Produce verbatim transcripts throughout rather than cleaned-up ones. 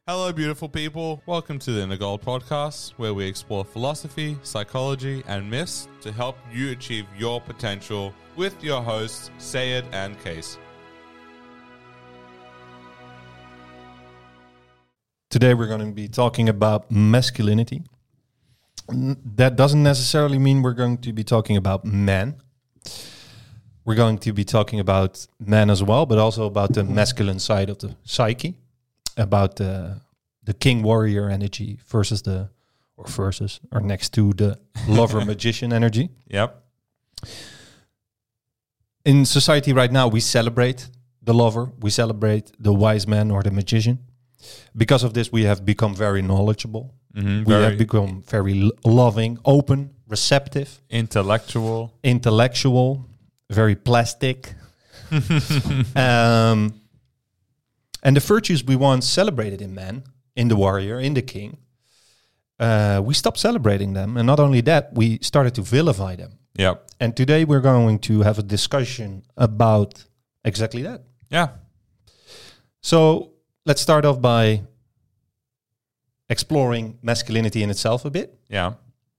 Hello, beautiful people. Welcome to the Inner Gold Podcast, where we explore philosophy, psychology, and myths to help you achieve your potential with your hosts, Sayed and Case. Today we're going to be talking about masculinity. N- That doesn't necessarily mean we're going to be talking about men. We're going to be talking about men as well, but also about the masculine side of the psyche, about the the king warrior energy versus the or versus or next to the lover magician energy. Yep. In society right now, we celebrate the lover, we celebrate the wise man or the magician. Because of this, we have become very knowledgeable. Mm-hmm. We Very have become very lo- loving, open, receptive, intellectual. intellectual, very plastic. um, and the virtues we once celebrated in men, in the warrior, in the king, uh, we stopped celebrating them. And not only that, we started to vilify them. Yep. And today we're going to have a discussion about exactly that. Yeah. So let's start off by exploring masculinity in itself a bit. Yeah.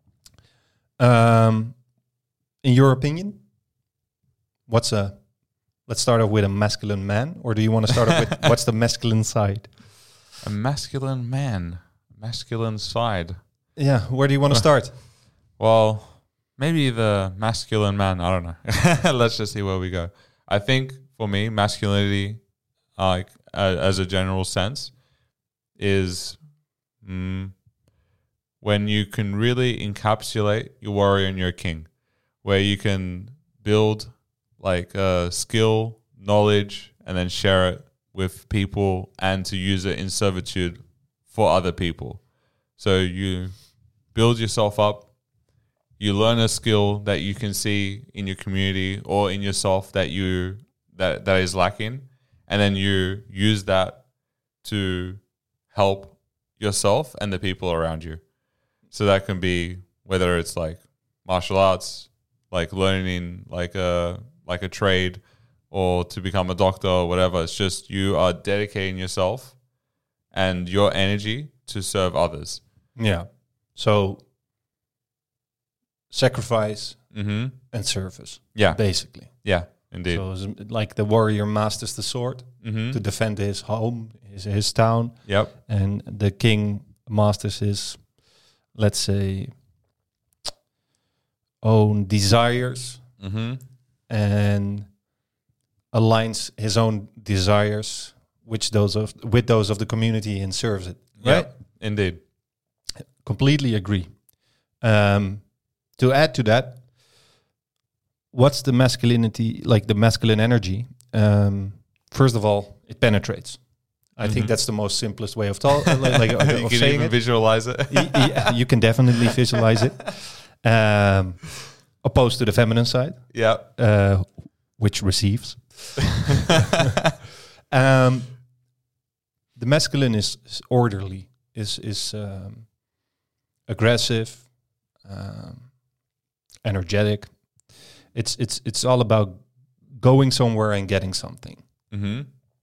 Um, in your opinion, what's a, let's start off with a masculine man, or do you want to start off with what's the masculine side? A masculine man. Masculine side. Yeah, where do you want to start? Well, maybe the masculine man. I don't know. Let's just see where we go. I think for me, masculinity, like uh, as a general sense, is mm, when you can really encapsulate your warrior and your king, where you can build like uh, skill, knowledge, and then share it with people and to use it in servitude for other people. So you build yourself up, you learn a skill that you can see in your community or in yourself that you that that is lacking, and then you use that to help yourself and the people around you. So that can be whether it's like martial arts, like learning like a like a trade, or to become a doctor or whatever. It's just you are dedicating yourself and your energy to serve others. Yeah. So sacrifice Mm-hmm. and service, Yeah. basically. Yeah, indeed. So it's like the warrior masters the sword Mm-hmm. to defend his home, his, his town, Yep. and the king masters his, let's say, own desires Mm-hmm. and aligns his own desires which those of with those of the community and serves it. Right? Yep. Indeed. Completely agree. Um, to add to that, what's the masculinity, like the masculine energy? Um, first of all, it penetrates. I Mhm. think that's the most simplest way of, talk, like, like, of, You of can saying even it. visualize it. Y- yeah, you can definitely visualize it. Um, opposed to the feminine side, Yeah. uh, which receives. um, the masculine is, is orderly, is is um, aggressive, um, energetic. It's it's it's all about going somewhere and getting something. Mm-hmm.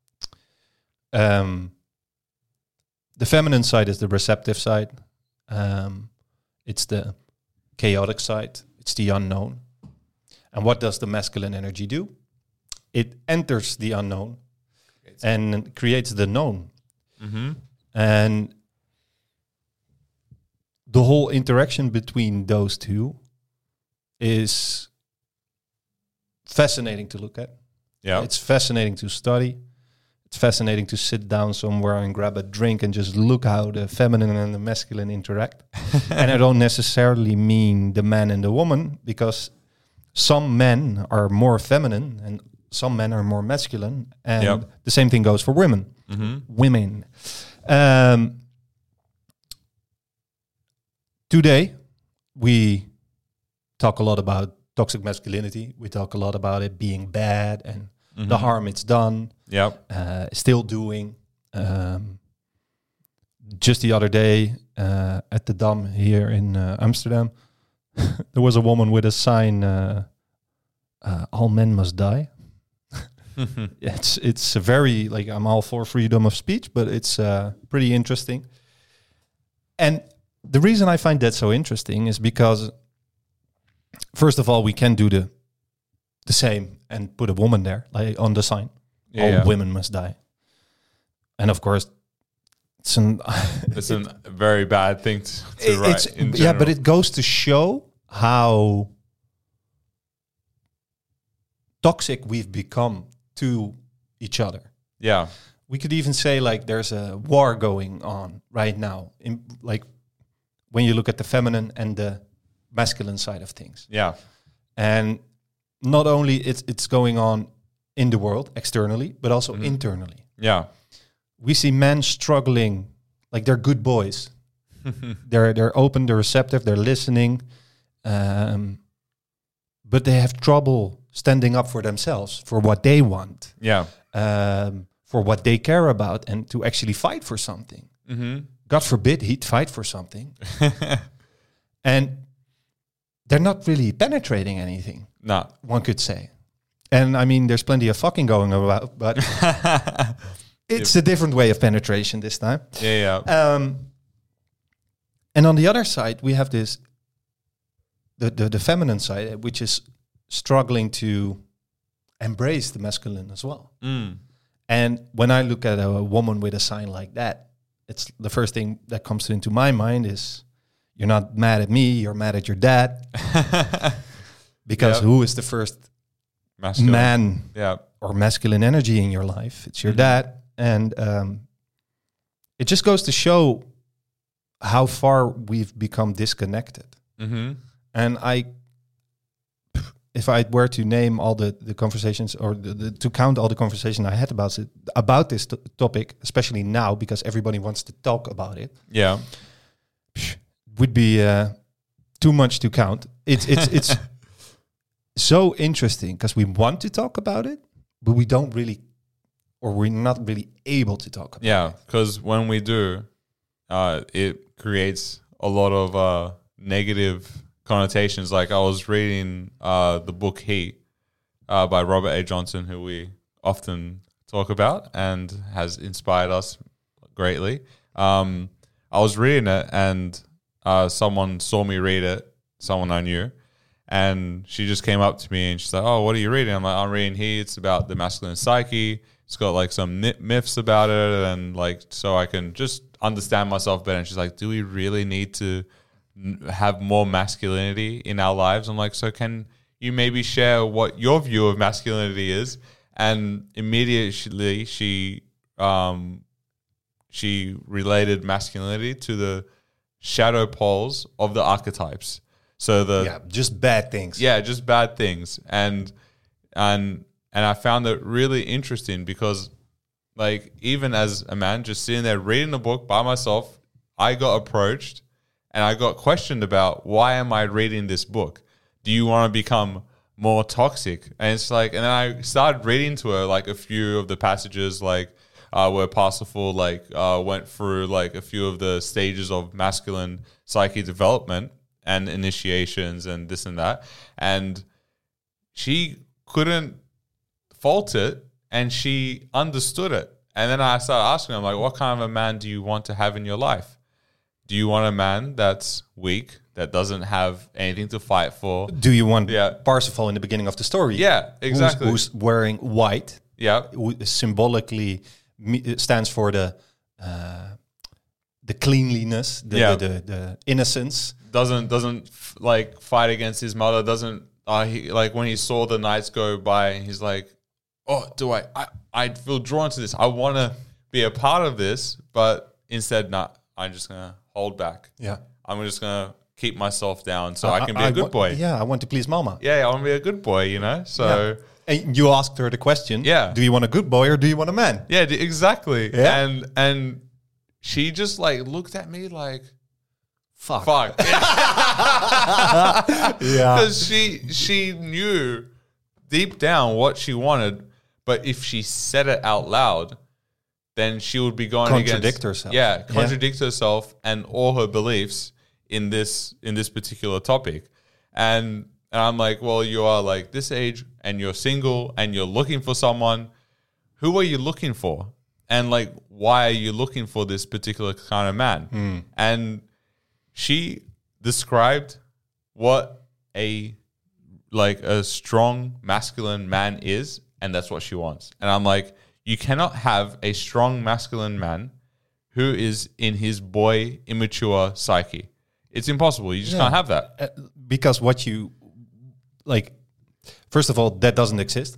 Um, the feminine side is the receptive side. Um, it's the chaotic side. It's the unknown. And what does the masculine energy do? It enters the unknown and creates the known. Mm-hmm. And the whole interaction between those two is fascinating to look at. Yeah. It's fascinating to study. It's fascinating to sit down somewhere and grab a drink and just look how the feminine and the masculine interact. And I don't necessarily mean the man and the woman, because some men are more feminine and some men are more masculine. And Yep. the same thing goes for women. Mm-hmm. Women. Um, today, we talk a lot about toxic masculinity. We talk a lot about it being bad and Mm-hmm. the harm it's done, Yep. uh, still doing. Um, just the other day uh, at the Dam here in uh, Amsterdam, there was a woman with a sign, uh, uh, all men must die. it's it's a very like I'm all for freedom of speech, but it's uh, pretty interesting. And the reason I find that so interesting is because, first of all, we can do the the same and put a woman there, like on the sign. Yeah, All yeah. women must die. And of course, it's an It's a very bad thing to, to it- write. it's, in yeah, general. but it goes to show how toxic we've become to each other. yeah, We could even say like there's a war going on right now, in like when you look at the feminine and the masculine side of things. yeah, And not only it's it's going on in the world externally, but also Mhm. internally. yeah, We see men struggling, like they're good boys. they're they're open, they're receptive, they're listening, um, but they have trouble standing up for themselves, for what they want, yeah. um, for what they care about, and to actually fight for something. Mm-hmm. God forbid he'd fight for something, and they're not really penetrating anything. Nah. One could say, and I mean, there's plenty of fucking going about, but it's a different way of penetration this time. Yeah, yeah. Um, and on the other side, we have this the, the the feminine side, which is struggling to embrace the masculine as well. Mm. And when I look at a, woman with a sign like that, it's the first thing that comes into my mind is, you're not mad at me, you're mad at your dad. Because Yep. who is the first Masculine. man Yeah. or masculine energy in your life? It's your Mhm. dad. And um, it just goes to show how far we've become disconnected. Mm-hmm. And I, if I were to name all the, the conversations or the, the, to count all the conversation I had about it, about this t- topic, especially now, because everybody wants to talk about it, Yeah. would be uh, too much to count. It's it's it's so interesting because we want to talk about it, but we don't really, or we're not really able to talk about Yeah. it. Because when we do, uh, it creates a lot of uh, negative connotations. Like I was reading uh, the book Heat uh, by Robert A. Johnson, who we often talk about and has inspired us greatly. Um, I was reading it and uh, someone saw me read it, someone I knew, and she just came up to me and she's like, "Oh, what are you reading?" I'm like, "I'm reading Heat. It's about the masculine psyche. It's got like some myth- myths about it, and like so I can just understand myself better." And she's like, "Do we really need to n- have more masculinity in our lives?" I'm like, "So can you maybe share what your view of masculinity is?" And immediately she um, she related masculinity to the shadow poles of the archetypes. So the Yeah, just bad things. yeah, just bad things. And and and I found it really interesting because like even as a man just sitting there reading the book by myself, I got approached and I got questioned about, why am I reading this book? Do you want to become more toxic? And it's like, and then I started reading to her like a few of the passages, like uh, where Parsifal like uh, went through like a few of the stages of masculine psyche development and initiations and this and that, and she couldn't fault it and she understood it. And then I started asking her, like, what kind of a man do you want to have in your life? Do you want a man that's weak, that doesn't have anything to fight for? Do you want Yeah. Parsifal in the beginning of the story? Yeah, Who's- exactly. Who's, wearing white, yeah, who symbolically me- it stands for the uh, the cleanliness, the, Yeah. the, the, the innocence. doesn't doesn't f- like fight against his mother. Doesn't uh, he, like when he saw the knights go by, he's like, "Oh, do I? I I feel drawn to this. I want to be a part of this." But instead, not. I'm just gonna hold back. Yeah. I'm just gonna keep myself down so I, can be a good wa- boy. Yeah, Yeah, I want to please mama. yeah, I want to be a good boy. You know, so. And you asked her the question, Yeah. do you want a good boy or do you want a man? Yeah, d- exactly. Yeah. And and she just like looked at me like, Fuck. fuck. Yeah. Because she she knew deep down what she wanted, but if she said it out loud, then she would be going Contradict against, herself. Yeah, Yeah. contradict herself and all her beliefs in this in this particular topic. And And I'm like, well, you are like this age and you're single and you're looking for someone. Who are you looking for? And like, why are you looking for this particular kind of man? Mm. And she described what a like a strong masculine man is, and that's what she wants. And I'm like, you cannot have a strong masculine man who is in his boy immature psyche. It's impossible. You just Yeah. can't have that. Uh, because what you like, first of all, that doesn't exist.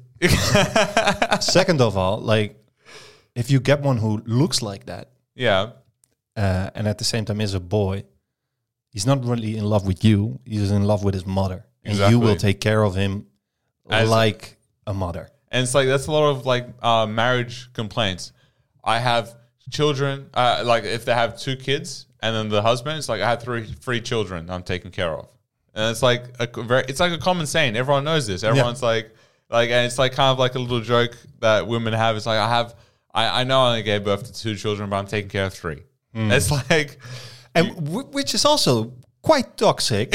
Second of all, like, if you get one who looks like that, Yeah. uh, and at the same time is a boy, he's not really in love with you. He's in love with his mother, and Exactly. you will take care of him As- like a mother. And it's like, that's a lot of like uh, marriage complaints. I have children, uh, like if they have two kids and then the husband, it's like, I have three, three children I'm taking care of. And it's like a co- very, it's like a common saying. Everyone knows this. Everyone's like, like, and it's like kind of like a little joke that women have. It's like, I have, I, I know I only gave birth to two children, but I'm taking care of three. It's like, And w- which is also quite toxic.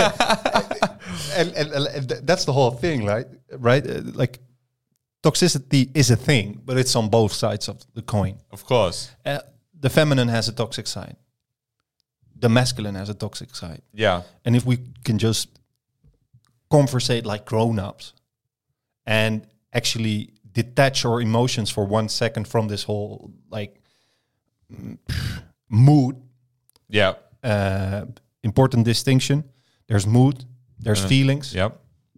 and, and, and th- that's the whole thing, right? Right? Uh, like, toxicity is a thing, but it's on both sides of the coin. of course. Uh, the feminine has a toxic side. The masculine has a toxic side. Yeah. And if we can just conversate like grown-ups and actually detach our emotions for one second from this whole like mm, mood, Yeah. uh, important distinction. There's mood, there's Uh, feelings. Yep.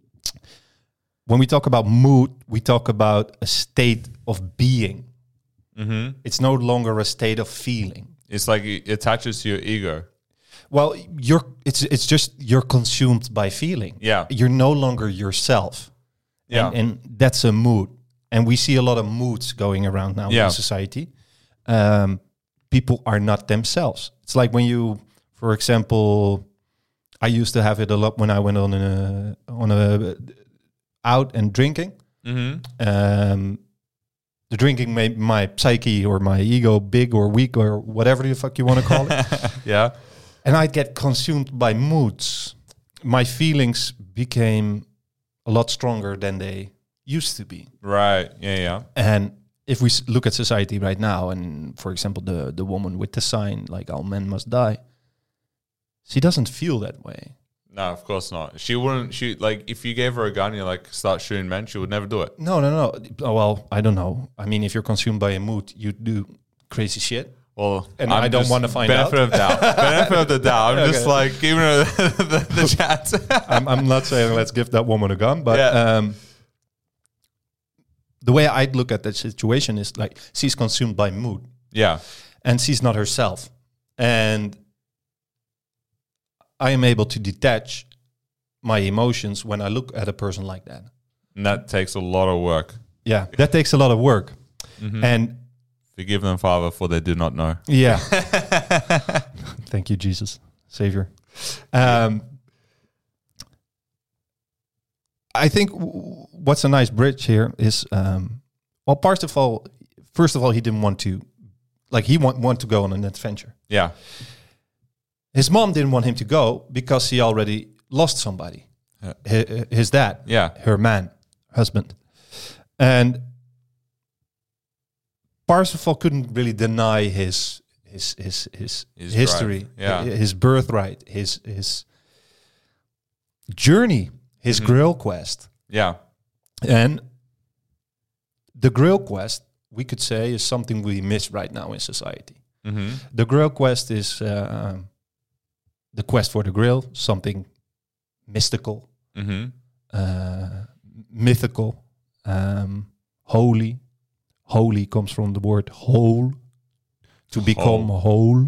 When we talk about mood, we talk about a state of being. Mm-hmm. It's no longer a state of feeling. It's like it attaches to your ego. Well, you're it's it's just you're consumed by feeling. Yeah. You're no longer yourself. Yeah. And, and that's a mood. And we see a lot of moods going around now Yeah. in society. Um, people are not themselves. It's like when you, for example, I used to have it a lot when I went on a on a out and drinking. Mm-hmm. Um, the drinking made my psyche or my ego big or weak or whatever the fuck you want to call it. Yeah. And I'd get consumed by moods. My feelings became a lot stronger than they used to be. Right. Yeah. Yeah. And if we s- look at society right now, and for example, the, the woman with the sign, like all men must die, she doesn't feel that way. No, of course not. She wouldn't shoot. Like, if you gave her a gun, and you like start shooting men, she would never do it. No, no, no. Oh, well, I don't know. I mean, if you're consumed by a mood, you do crazy shit. Well, And I don't just wanna find benefit out. of doubt. Benefit of the doubt. I'm just Okay. like giving her the, the chat. I'm, I'm not saying let's give that woman a gun, but Yeah. um, the way I'd look at that situation is like she's consumed by mood Yeah. and she's not herself. And I am able to detach my emotions when I look at a person like that. And that takes a lot of work. Yeah, that takes a lot of work. Mhm. And Forgive them, Father, for they do not know. yeah, thank you, Jesus, Savior. Um, I think w- what's a nice bridge here is, um, well, first of all, first of all, he didn't want to, like, he want want to go on an adventure. Yeah. His mom didn't want him to go because he already lost somebody, Yeah. Hi- his dad, Yeah. her man, husband, and Parsifal couldn't really deny his his his his, His history, drive, yeah. hi- his birthright, his his journey, his Mhm. Grail quest, Yeah. and the Grail quest, we could say, is something we miss right now in society. Mm-hmm. The Grail quest is uh, the quest for the Grail, something mystical, Mm-hmm. uh, mythical, um, holy. Holy comes from the word whole, to become whole.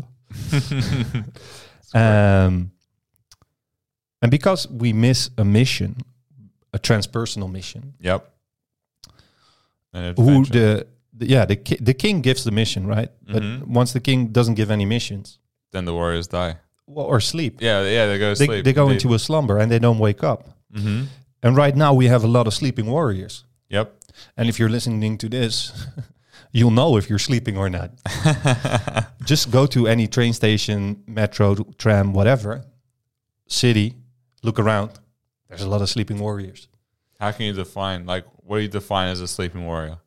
um, and because we miss a mission, a transpersonal mission, Yep. An who adventure. the, the yeah the ki- the king gives the mission, right? But Mhm. once the king doesn't give any missions, Then the warriors die. well, or sleep, Yeah. Yeah. They go to they, sleep. they go into a slumber and they don't wake up. Mm-hmm. And right now we have a lot of sleeping warriors. Yep. And if you're listening to this, you'll know if you're sleeping or not. Just go to any train station, metro, tram, whatever, city, look around. There's a lot of sleeping warriors. How can you define, like, what do you define as a sleeping warrior?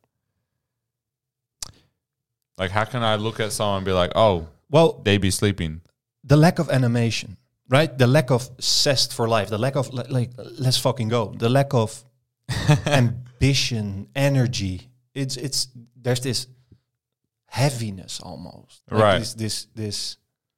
Like, how can I look at someone and be like, oh, well, they be sleeping? The lack of animation, right? The lack of zest for life. The lack of, like, like let's fucking go. The lack of ambition, energy. It's, it's, there's this heaviness almost. Like right. This, this, this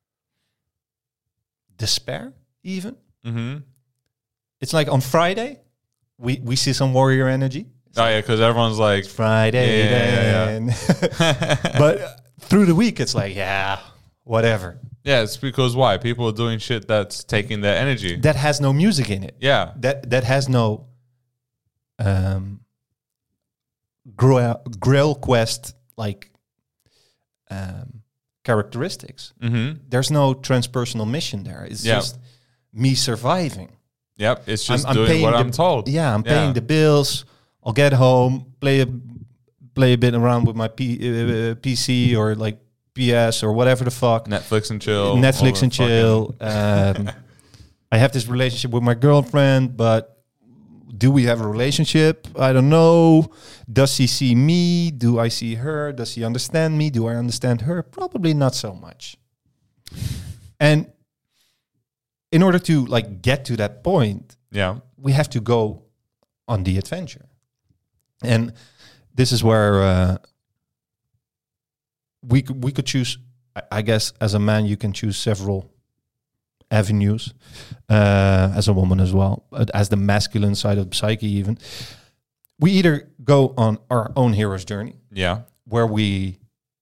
despair, even. Mm-hmm. It's like on Friday, we, we see some warrior energy. Oh, yeah, because everyone's like... It's Friday yeah, yeah, then. Yeah, yeah. But uh, through the week, it's like, yeah, whatever. Yeah, it's because why? People are doing shit that's taking their energy. That has no music in it. Yeah. That that has no um, Grail, Grail Quest like um, characteristics. Mm-hmm. There's no transpersonal mission there. It's Yep. just me surviving. Yep, it's just I'm, I'm doing paying what the, I'm told. Yeah, I'm Yeah. paying the bills. I'll get home, play a play a bit around with my P, uh, P C or like P S or whatever the fuck. Netflix and chill. Netflix all and the chill. Um, I have this relationship with my girlfriend, but do we have a relationship? I don't know. Does she see me? Do I see her? Does she understand me? Do I understand her? Probably not so much. And in order to like get to that point, Yeah. we have to go on the adventure. And this is where uh, we could, we could choose, I- I guess, as a man, you can choose several avenues, uh, as a woman as well, but as the masculine side of psyche even. We either go on our own hero's journey, Yeah. where we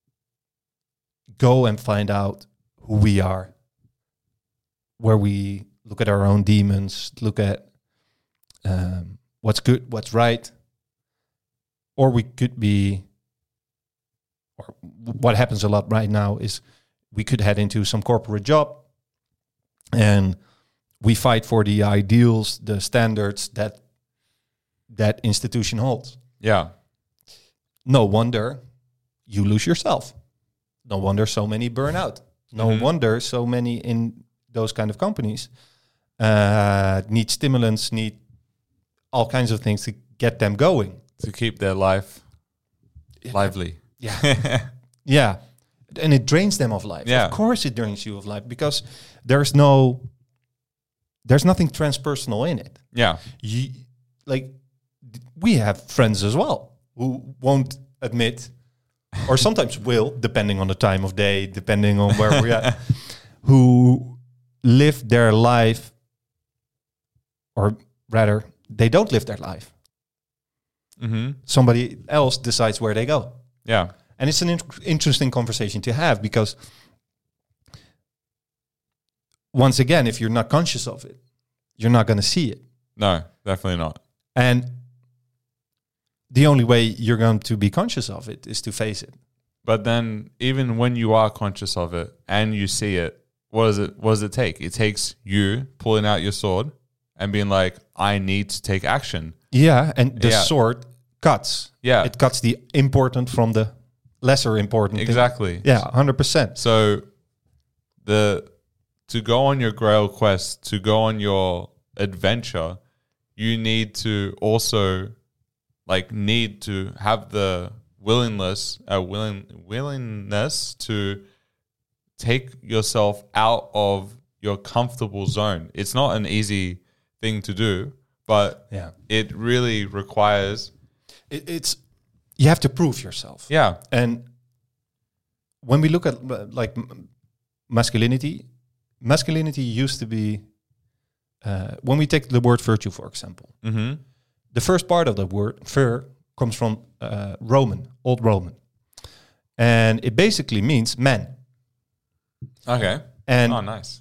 go and find out who we are, where we look at our own demons, look at um, what's good, what's right, or we could be, or what happens a lot right now is we could head into some corporate job and we fight for the ideals, the standards that that institution holds. Yeah. No wonder you lose yourself. No wonder so many burn out. No Mhm. wonder so many in those kind of companies uh, need stimulants, need all kinds of things to get them going. To keep their life lively. Yeah. Yeah. And it drains them of life. Yeah. Of course it drains you of life because there's no, there's nothing transpersonal in it. Yeah. You, like, d- we have friends as well who won't admit, or sometimes will, depending on the time of day, depending on where we're at, who live their life, or rather, they don't live their life. Mm-hmm. Somebody else decides where they go. Yeah. And it's an in- interesting conversation to have because, once again, if you're not conscious of it, you're not going to see it. No, definitely not. And the only way you're going to be conscious of it is to face it. But then even when you are conscious of it and you see it, what does it what does it take? It takes you pulling out your sword and being like, I need to take action. Yeah, and the Yeah. sword cuts. Yeah. It cuts the important from the lesser important. thing. Exactly. Yeah, one hundred percent. So the to go on your Grail quest, to go on your adventure, you need to also like need to have the willingness, uh, willing willingness to take yourself out of your comfortable zone. It's not an easy thing to do, but Yeah. it really requires. It, it's, you have to prove yourself. Yeah. And when we look at uh, like m- masculinity, masculinity used to be, uh, when we take the word virtue, for example, Mm-hmm. the first part of the word vir comes from uh, Roman, Old Roman. And it basically means man. Okay. And Oh, nice.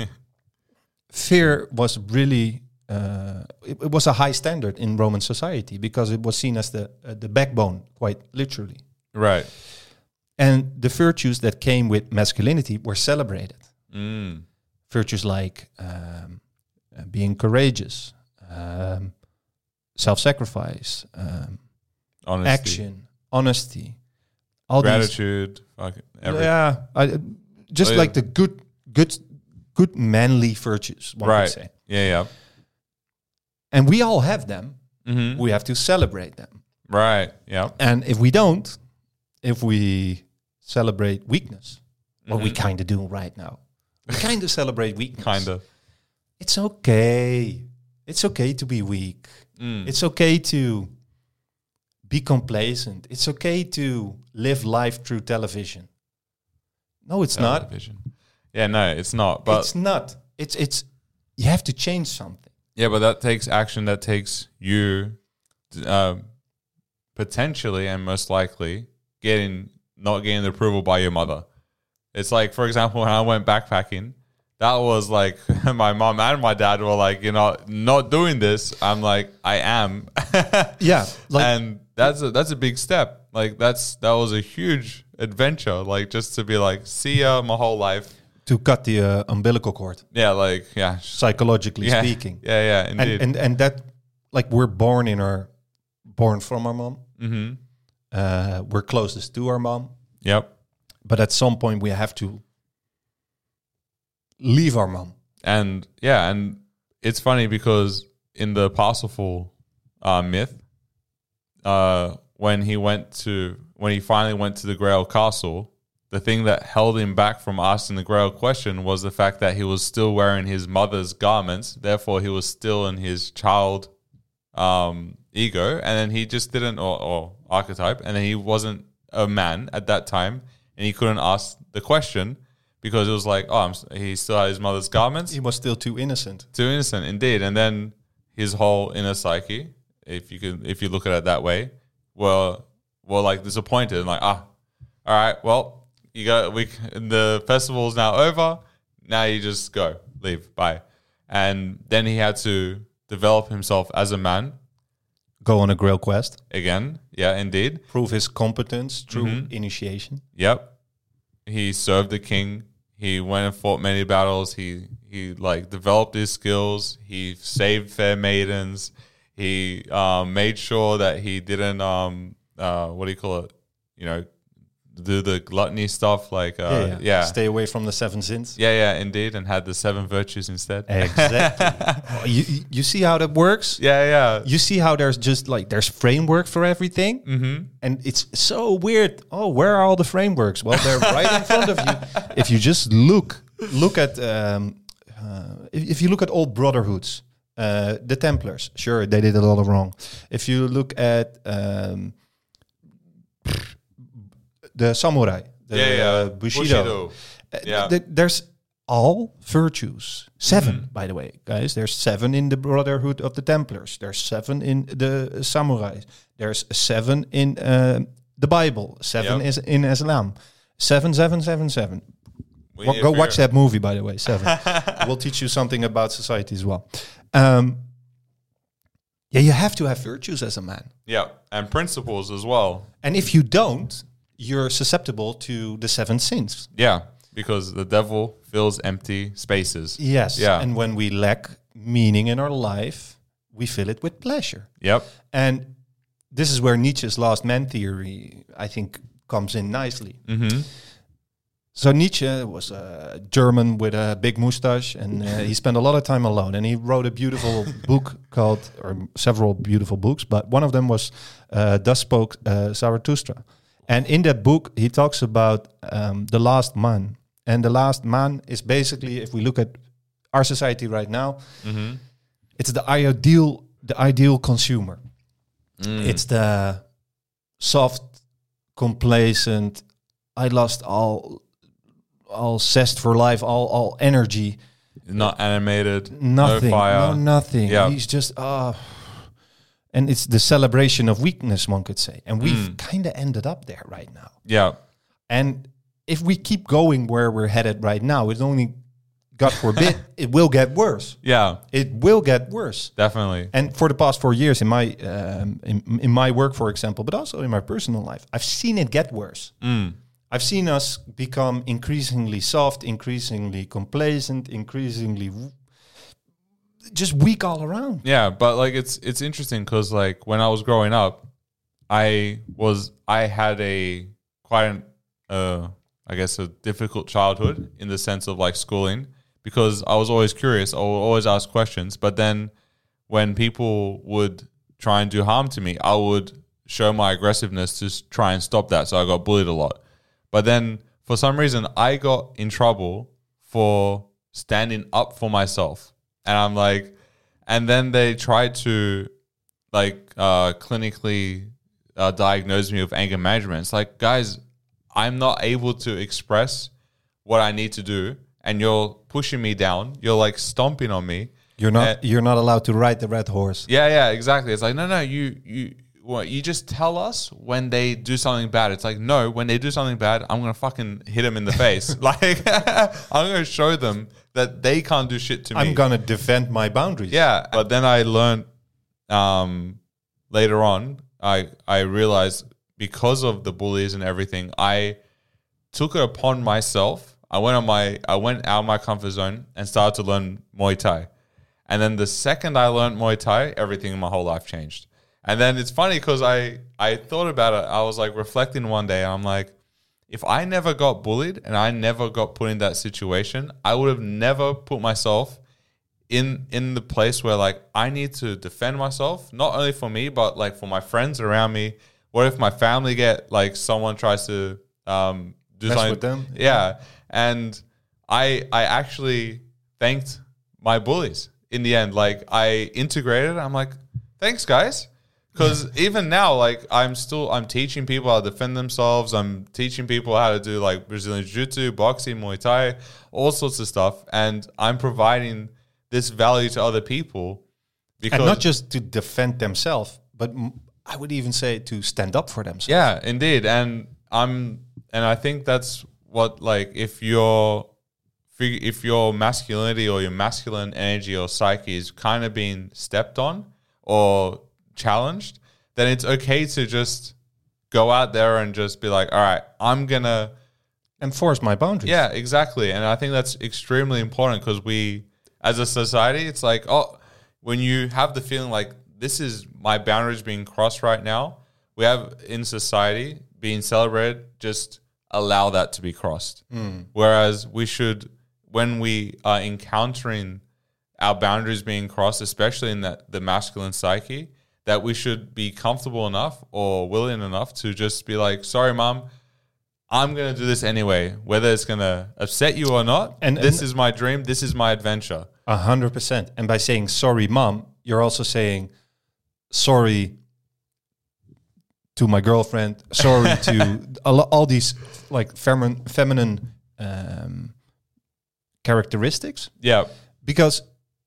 fear was really, uh, it, it was a high standard in Roman society because it was seen as the uh, the backbone, quite literally. Right. And the virtues that came with masculinity were celebrated. Mm. Virtues like um, uh, being courageous, um, self-sacrifice, um, Honesty. action, honesty, all Gratitude. Fucking these. everything. Yeah, I, just Oh, yeah. like the good, good, good manly virtues. One Right. could say. Yeah, yeah. And we all have them. Mm-hmm. We have to celebrate them. Right. Yeah. And if we don't, if we celebrate weakness, what Mm-hmm. we kind of do right now, we kind of celebrate weakness. Kind of. It's okay. It's okay to be weak. Mm. It's okay to be complacent. It's okay to live life through television. No, it's not. Television. Yeah, no, it's not. But It's not. It's it's. You have to change something. yeah, but that takes action. That takes you um, potentially and most likely getting not getting the approval by your mother. It's like, for example, when I went backpacking, that was like my mom and my dad were like, you know, not doing this. I'm like, I am. Yeah, like and that's a that's a big step. Like that's that was a huge adventure. Like just to be like, see ya my whole life. to cut the uh, umbilical cord, Yeah, like yeah, psychologically yeah, speaking. Yeah, yeah, And, indeed. and and that, like, we're born in our, born from our mom. mm-hmm. Uh, we're closest to our mom, Yep. but at some point we have to leave our mom. And yeah, and it's funny because in the Parsifal uh, myth, uh, when he went to when he finally went to the Grail Castle, the thing that held him back from asking the Grail question was the fact that he was still wearing his mother's garments. Therefore, he was still in his child um, ego, and then he just didn't, or, or archetype, and then he wasn't a man at that time, and he couldn't ask the question because it was like, oh, I'm, s- he still had his mother's garments. He was still too innocent. Too innocent, indeed. And then his whole inner psyche, if you can, if you look at it that way, were were like disappointed and like, ah, all right, well, you got we the festival's now over. Now you just go, leave, bye. And then he had to develop himself as a man Go on a Grail quest, again. Yeah, indeed. prove his competence through Mhm. initiation. Yep. He served the king. He went and fought many battles. He he like developed his skills. He saved fair maidens. He um, made sure that he didn't um uh what do you call it? You know, do the gluttony stuff like uh, yeah, yeah. Stay away from the seven sins. yeah, yeah, indeed, and had the seven virtues instead. Exactly. Oh, you you- you see how that works? Yeah, yeah. You see how there's just like there's framework for everything, Mm-hmm. and it's so weird. Oh, where are all the frameworks? Well, they're right in front of you. If you just look, look at um, uh, if, if you look at old brotherhoods, uh, the Templars. Sure, they did a lot of wrong. If you look at um, the samurai, the Yeah, yeah. uh, Bushido, Bushido. uh, Yeah. th- there's all virtues. Seven, Mhm. by the way, guys. There's seven in the Brotherhood of the Templars. There's seven in the samurais. There's seven in uh, the Bible. Seven Yep. is in Islam. Seven, seven, seven, seven. We Wa- need go to watch figure- that movie, by the way. Seven. We'll teach you something about society as well. Um, yeah, you have to have virtues as a man. Yeah, and principles as well. And if you don't, you're susceptible to the seven sins. Yeah, because the devil fills empty spaces. Yes. Yeah. And when we lack meaning in our life, we fill it with pleasure. Yep. And this is where Nietzsche's last man theory, I think, comes in nicely. Mm-hmm. So Nietzsche was a German with a big mustache, and uh, he spent a lot of time alone. And he wrote a beautiful book called, or several beautiful books, but one of them was uh, Thus Spoke uh, Zarathustra. And in that book, he talks about um, the last man. And the last man is basically, if we look at our society right now, Mm-hmm. it's the ideal, the ideal consumer. Mm. It's the soft, complacent. I lost all, all zest for life, all, all energy. Not animated. Nothing, No fire. no nothing. Yeah. He's just ah. And it's the celebration of weakness, one could say. And we've Mm. kind of ended up there right now. Yeah. And if we keep going where we're headed right now, it's only, God forbid, it will get worse. Yeah. It will get worse. Definitely. And for the past four years in my um, in, in my work, for example, but also in my personal life, I've seen it get worse. Mm. I've seen us become increasingly soft, increasingly complacent, increasingly w- just weak all around. Yeah, but like it's it's interesting because like when I was growing up, I was I had a quite an uh I guess a difficult childhood in the sense of like schooling because I was always curious. I would always ask questions, but then when people would try and do harm to me, I would show my aggressiveness to s- try and stop that. So I got bullied a lot. But then for some reason, I got in trouble for standing up for myself. And I'm like, and then they tried to like uh, clinically uh, diagnose me with anger management. It's like, guys, I'm not able to express what I need to do. And you're pushing me down. You're like stomping on me. You're not And- you're not allowed to ride the red horse. yeah, yeah, exactly. It's like, no, no, you, you, what, you just tell us when they do something bad. It's like, no, when they do something bad, I'm gonna fucking hit them in the face. Like, I'm gonna show them that they can't do shit to me. I'm gonna defend my boundaries. Yeah, but then I learned um, later on. I I realized because of the bullies and everything, I took it upon myself. I went on my I went out of my comfort zone and started to learn Muay Thai. And then the second I learned Muay Thai, everything in my whole life changed. And then it's funny because I, I thought about it. I was like reflecting one day. And I'm like, if I never got bullied and I never got put in that situation, I would have never put myself in in the place where like I need to defend myself, not only for me, but like for my friends around me. What if my family get like someone tries to um, do Mess something with them? Yeah. And I I actually thanked my bullies in the end. Like I integrated. I'm like, thanks guys. Because even now, like I'm still, I'm teaching people how to defend themselves. I'm teaching people how to do like Brazilian Jiu-Jitsu, boxing, Muay Thai, all sorts of stuff. And I'm providing this value to other people. Because And not just to defend themselves, but m- I would even say to stand up for themselves. yeah, indeed. And I'm, and I think that's what, like, if your, if your masculinity or your masculine energy or psyche is kind of being stepped on or challenged, then it's okay to just go out there and just be like, all right, I'm gonna Enforce my boundaries. yeah, exactly. And I think that's extremely important because we as a society, it's like, oh, when you have the feeling like this is my boundaries being crossed right now, we have in society being celebrated, just allow that to be crossed. Whereas we should, when we are encountering our boundaries being crossed, especially in that the masculine psyche, that we should be comfortable enough or willing enough to just be like, sorry, mom, I'm going to do this anyway, whether it's going to upset you or not. And- And this and- is my dream. This is my adventure. A hundred percent. And by saying sorry, mom, you're also saying sorry to my girlfriend, sorry to a lo- all these like feminine, feminine um, characteristics, Yeah. because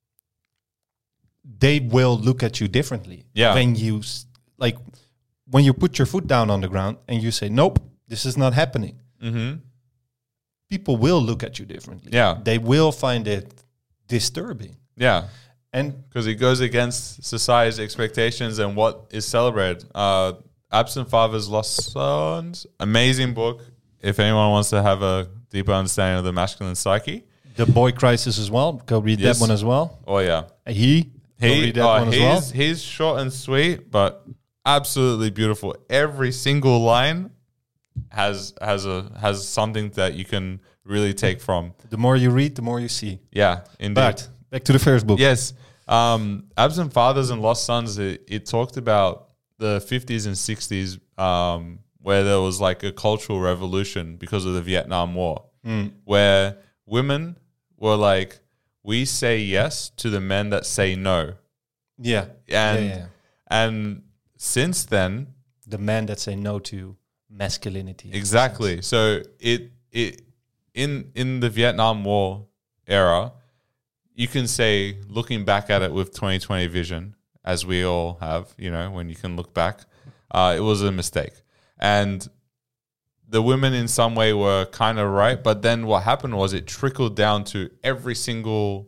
they will look at you differently. Yeah. When you s- like when you put your foot down on the ground and you say, "Nope, this is not happening." Mm-hmm. People will look at you differently. Yeah. They will find it disturbing. Yeah. And Because it goes against society's expectations and what is celebrated. Uh, Absent Fathers, Lost Sons, amazing book. If anyone wants to have a deeper understanding of the masculine psyche. The Boy Crisis as well. Go read Yes. that one as well. Oh, yeah. He. Go He, read that uh, one as he's, well. he's short and sweet, but absolutely beautiful. Every single line has has a has something that you can really take from. The more you read, the more you see. Yeah, indeed. But back to the first book. Yes. Um, Absent Fathers and Lost Sons, it, it talked about the fifties and sixties um, where there was like a cultural revolution because of the Vietnam War, where women were like, we say yes to the men that say no. Yeah. And, yeah, yeah. and since then, The men that say no to masculinity. exactly. So it it in in the Vietnam War era, you can say, looking back at it with twenty twenty vision, as we all have, you know, when you can look back, uh, it was a mistake. And the women in some way were kind of right, but then what happened was it trickled down to every single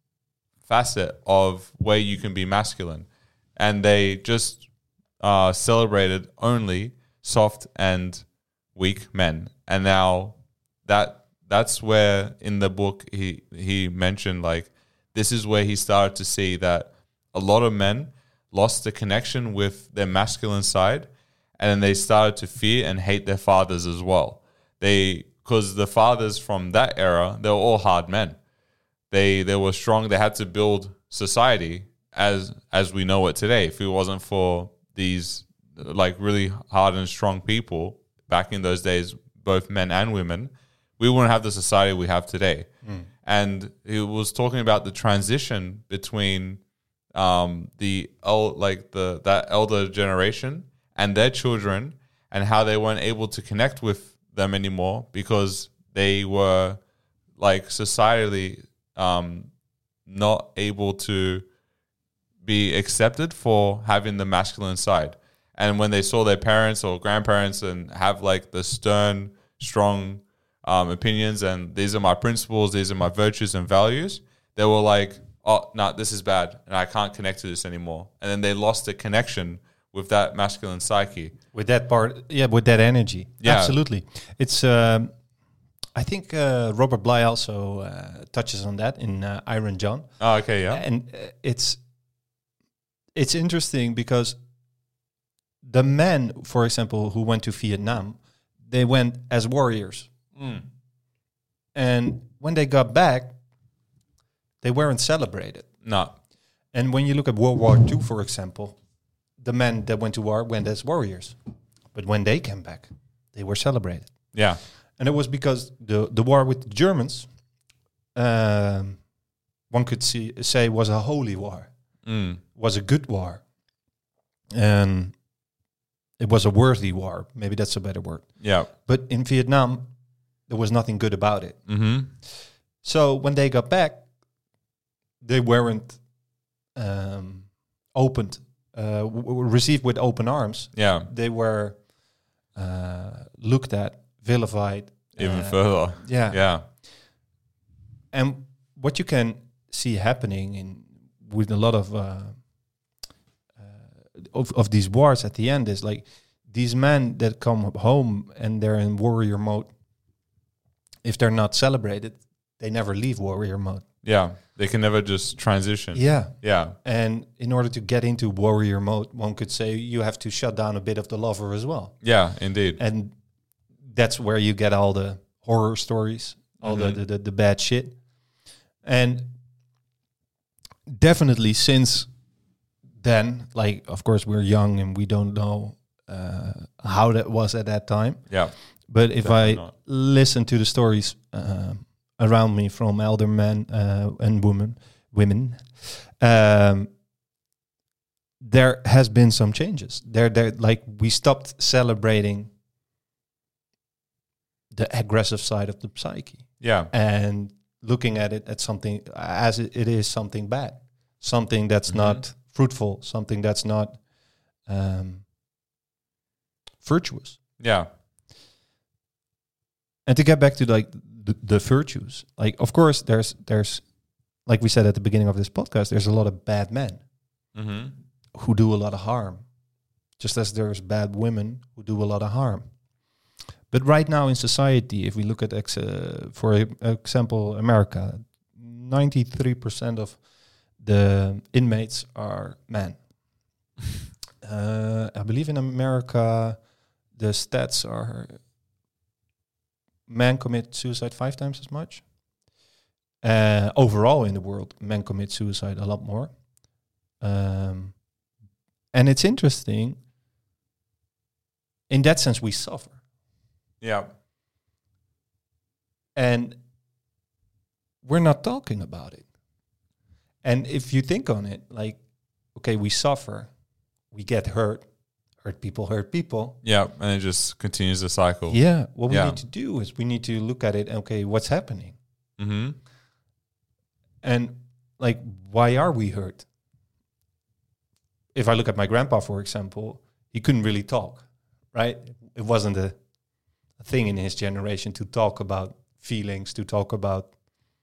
facet of where you can be masculine. And they just uh, celebrated only soft and weak men. And now that that's where in the book he he mentioned like this is where he started to see that a lot of men lost the connection with their masculine side, and then they started to fear and hate their fathers as well. They because the fathers from that era, they were all hard men. They they were strong. They had to build society, as as we know it today. If it wasn't for these like really hard and strong people back in those days, both men and women, we wouldn't have the society we have today. Mm. And he was talking about the transition between um, the el- like the that elder generation and their children, and how they weren't able to connect with them anymore because they were like societally um, not able to be accepted for having the masculine side. And when they saw their parents or grandparents and have like the stern, strong um, opinions and these are my principles, these are my virtues and values, they were like, oh, no, nah, this is bad and I can't connect to this anymore. And then they lost the connection with that masculine psyche. With that part, yeah, with that energy. Yeah. Absolutely. It's, um, I think uh, Robert Bly also uh, touches on that in uh, Iron John. Oh, okay, yeah. And uh, it's, it's interesting because the men, for example, who went to Vietnam, they went as warriors. Mm. And when they got back, they weren't celebrated. No. And when you look at World War Two, for example, the men that went to war went as warriors. But when they came back, they were celebrated. Yeah. And it was because the, the war with the Germans, um, one could see, say, was a holy war. Mm. Was a good war. And it was a worthy war. Maybe that's a better word. Yeah. But in Vietnam, there was nothing good about it. Mm-hmm. So when they got back, they weren't um, opened, uh, w- w- received with open arms. Yeah. They were uh, looked at, vilified. Even uh, further. Yeah. Yeah. And what you can see happening in with a lot of uh, uh, of, of these wars at the end is like these men that come home and they're in warrior mode. If they're not celebrated, they never leave warrior mode. Yeah. They can never just transition. Yeah. Yeah. And in order to get into warrior mode, one could say you have to shut down a bit of the lover as well. Yeah, indeed. And that's where you get all the horror stories, all Mm-hmm. the, the, the, the bad shit. And definitely since then, like, of course, we're young and we don't know uh, how that was at that time. Yeah. But if Definitely I not. listen to the stories uh, around me from elder men uh, and women, women, um, there has been some changes. There, there, like we stopped celebrating the aggressive side of the psyche Yeah. and looking at it as something as it, it is something bad, something that's Mhm. not fruitful, something that's not um, virtuous. Yeah. And to get back to like the, the virtues, like of course there's there's like we said at the beginning of this podcast, there's a lot of bad men Mm-hmm. who do a lot of harm, just as there's bad women who do a lot of harm. But right now in society, if we look at ex- uh, for e- example America, ninety-three percent of the inmates are men. uh, I believe in America, the stats are men commit suicide five times as much. Uh, overall in the world, men commit suicide a lot more. Um, and it's interesting. In that sense, we suffer. Yeah. And we're not talking about it. And if you think on it, like, okay, we suffer, we get hurt, hurt people hurt people. Yeah. And it just continues the cycle. Yeah, what we Yeah. need to do is we need to look at it, okay, what's happening? Mm-hmm. And like, why are we hurt? If I look at my grandpa, for example, he couldn't really talk, right? It wasn't a, a thing in his generation to talk about feelings, to talk about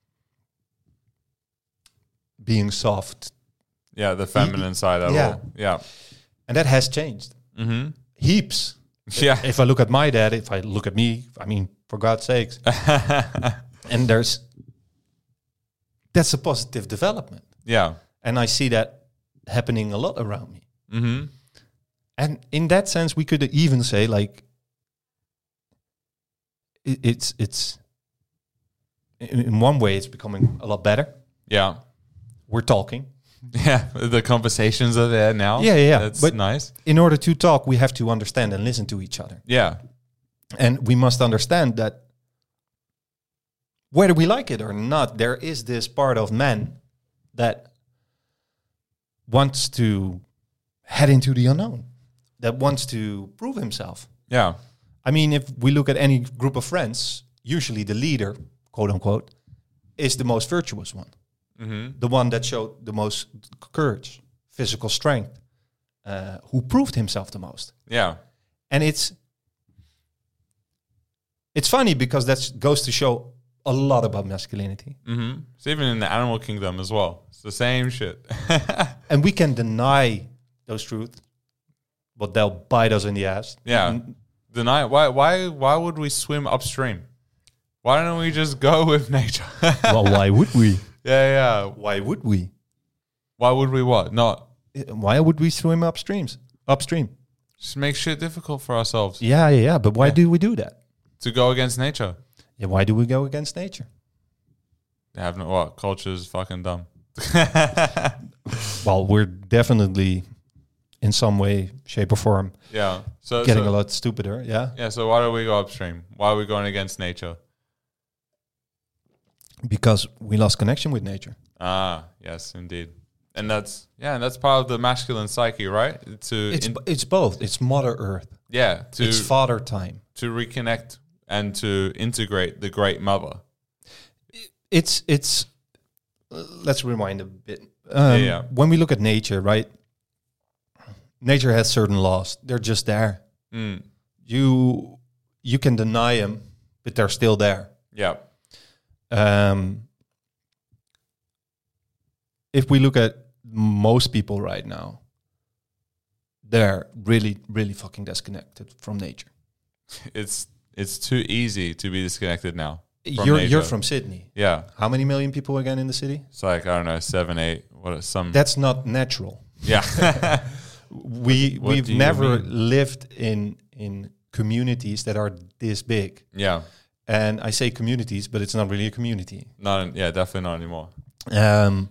being soft. Yeah. The feminine side at yeah. all. Yeah. And that has changed. Mm-hmm. Heaps. Yeah. If I look at my dad, if I look at me, I mean, for God's sakes. And there's, that's a positive development. Yeah. And I see that happening a lot around me. Mm-hmm. And in that sense, we could even say like, it, it's, it's, in, in one way, it's becoming a lot better. Yeah. We're talking. Yeah, the conversations are there now. Yeah, yeah, yeah. That's But- nice. In order to talk, we have to understand and listen to each other. Yeah. And we must understand that whether we like it or not, there is this part of man that wants to head into the unknown, that wants to prove himself. Yeah. I mean, if we look at any group of friends, usually the leader, quote unquote, is the most virtuous one. Mm-hmm. The one that showed the most courage, physical strength, uh, who proved himself the most. Yeah. And it's it's funny because that goes to show a lot about masculinity. Mm-hmm. It's even in the animal kingdom as well. It's the same shit. And we can deny those truths, but they'll bite us in the ass. Yeah. N- Deny why why why would we swim upstream? Why don't we just go with nature? Well, why would we? Yeah, yeah. Why would we? Why would we what? Not Why would we swim upstreams? Upstream. just make shit difficult for ourselves Yeah, yeah, yeah. But why Yeah. do we do that? to go against nature. Yeah, why do we go against nature? They have no what? Culture's fucking dumb. Well, we're definitely in some way, shape, or form Yeah. So getting so, a lot stupider. Yeah, Yeah, so why do we go upstream? Why are we going against nature? because we lost connection with nature. Ah, yes, indeed. And that's yeah, and that's part of the masculine psyche, right? To It's in- it's both. It's Mother Earth. yeah, to It's Father Time. to reconnect and to integrate the great mother. It's it's. uh, let's rewind a bit. Um, yeah. When we look at nature, right? Nature has certain laws. They're just there. Mm. You you can deny them, but they're still there. Yeah. Um, if we look at most people right now, they're really, really fucking disconnected from nature. It's it's too easy to be disconnected now. from You're nature. you're from Sydney. Yeah. How many million people again in the city? It's like I don't know, seven, eight. What are some? That's not natural. yeah. We What we've do you never mean? lived in in communities that are this big. yeah. And I say communities, but it's not really a community. Not in, yeah, definitely not anymore. Um,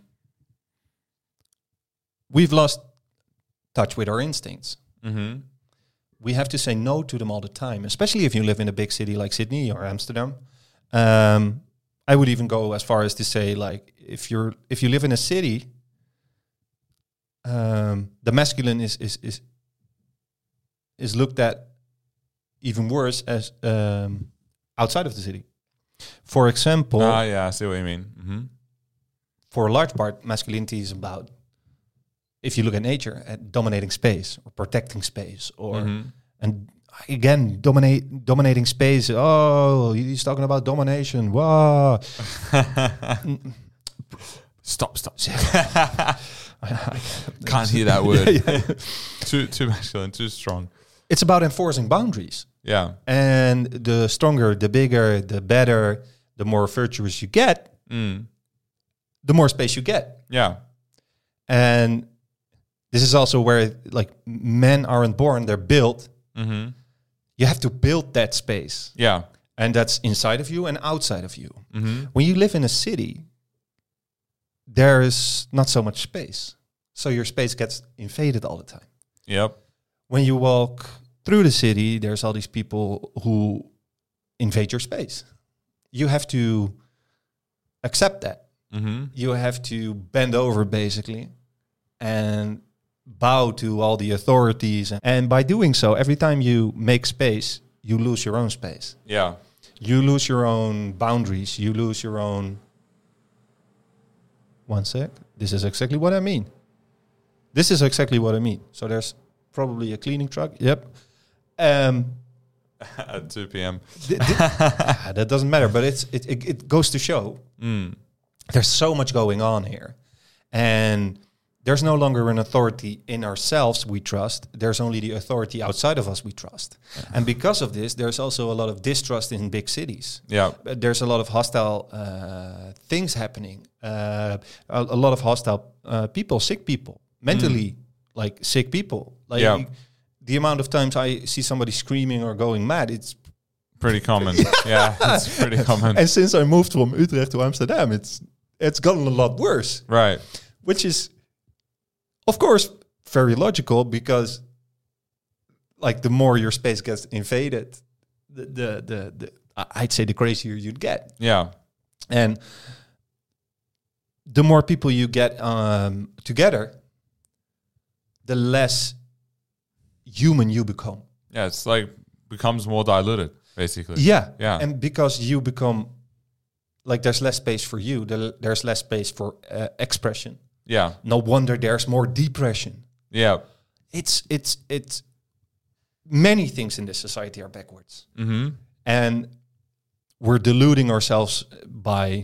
we've lost touch with our instincts. Mm-hmm. We have to say no to them all the time, especially if you live in a big city like Sydney or Amsterdam. Um, I would even go as far as to say, like, if you're if you live in a city, um, the masculine is is is is looked at even worse as um, outside of the city. For example, Ah, yeah, I see what you mean. Mm-hmm. for a large part, masculinity is about, if you look at nature, at dominating space or protecting space, or Mm-hmm. and again, dominate dominating space. Oh, he's talking about domination. Wow. Stop, stop. I- I- Can't hear that word. Yeah, yeah. too too masculine, too strong. It's about enforcing boundaries. Yeah. And the stronger, the bigger, the better, the more virtuous you get, Mm. the more space you get. Yeah. And this is also where, like, men aren't born, they're built. Mm-hmm. You have to build that space. Yeah. And that's inside of you and outside of you. Mm-hmm. When you live in a city, there is not so much space. So your space gets invaded all the time. Yep. When you walk through the city, there's all these people who invade your space. You have to accept that. Mm-hmm. You have to bend over, basically, and bow to all the authorities. And by doing so, every time you make space, you lose your own space. Yeah. You lose your own boundaries. You lose your own... One sec. This is exactly what I mean. This is exactly what I mean. So there's probably a cleaning truck. Yep. Um, At two p.m. th- th- ah, that doesn't matter, but it's it, it, it goes to show Mm. there's so much going on here. And there's no longer an authority in ourselves we trust. There's only the authority outside of us we trust. And because of this, there's also a lot of distrust in big cities. Yeah. Uh, There's a lot of hostile uh, things happening. Uh, a, a lot of hostile uh, people, sick people, mentally like sick people. Like Yeah. the amount of times I see somebody screaming or going mad, it's Pretty common. yeah. It's pretty common. and since I moved from Utrecht to Amsterdam, it's it's gotten a lot worse. Right. Which is Of course, very logical, because like the more your space gets invaded, the the the, the I'd say the crazier you'd get. Yeah. And the more people you get um, together, the less human you become. Yeah, it's like becomes more diluted, basically. Yeah. Yeah. And because you become, like, there's less space for you, the, there's less space for uh, expression. Yeah. No wonder there's more depression. Yeah. It's, it's, it's, many things in this society are backwards. Mm-hmm. And we're deluding ourselves by,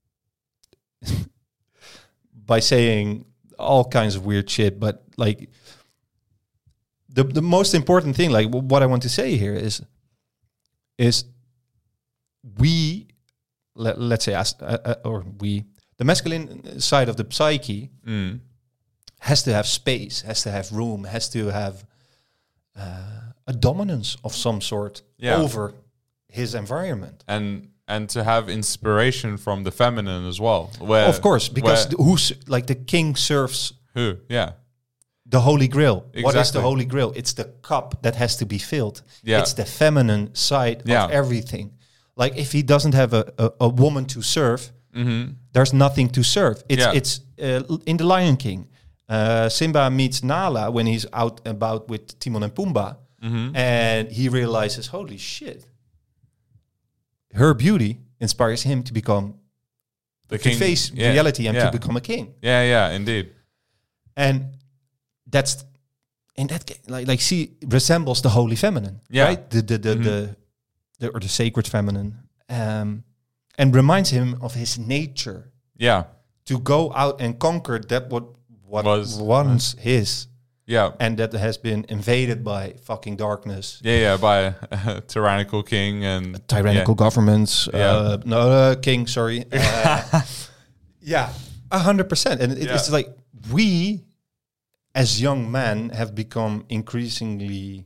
by saying all kinds of weird shit, but like, the the most important thing, like w- what I want to say here is, is we, let, let's say, as, uh, uh, or we, the masculine side of the psyche Mm. has to have space, has to have room, has to have uh, a dominance of some sort Yeah. over his environment. And and to have inspiration from the feminine as well. Where, Of course, because where- the, who's like the king serves who? Yeah. the Holy Grail. What is the Exactly. Holy Grail? It's the cup that has to be filled. Yeah. It's the feminine side Yeah. of everything. Like if he doesn't have a, a, a woman to serve, Mm-hmm. there's nothing to serve. It's Yeah. it's uh, in the Lion King. Uh, Simba meets Nala when he's out and about with Timon and Pumbaa, Mm-hmm. and he realizes, holy shit, her beauty inspires him to become The to face yeah, reality and yeah. to become a king. Yeah, yeah, indeed. And that's in that ca- like like she resembles the holy feminine, Yeah. right? The the the, Mhm. the the or the sacred feminine, um, and reminds him of his nature Yeah. to go out and conquer that what what Was- once his, Yeah. and that has been invaded by fucking darkness, Yeah, yeah, by a tyrannical king and tyrannical governments. Yeah. Uh, no, uh, king, sorry. Uh, yeah, a hundred percent. And it, Yeah. it's like we, as young men, have become increasingly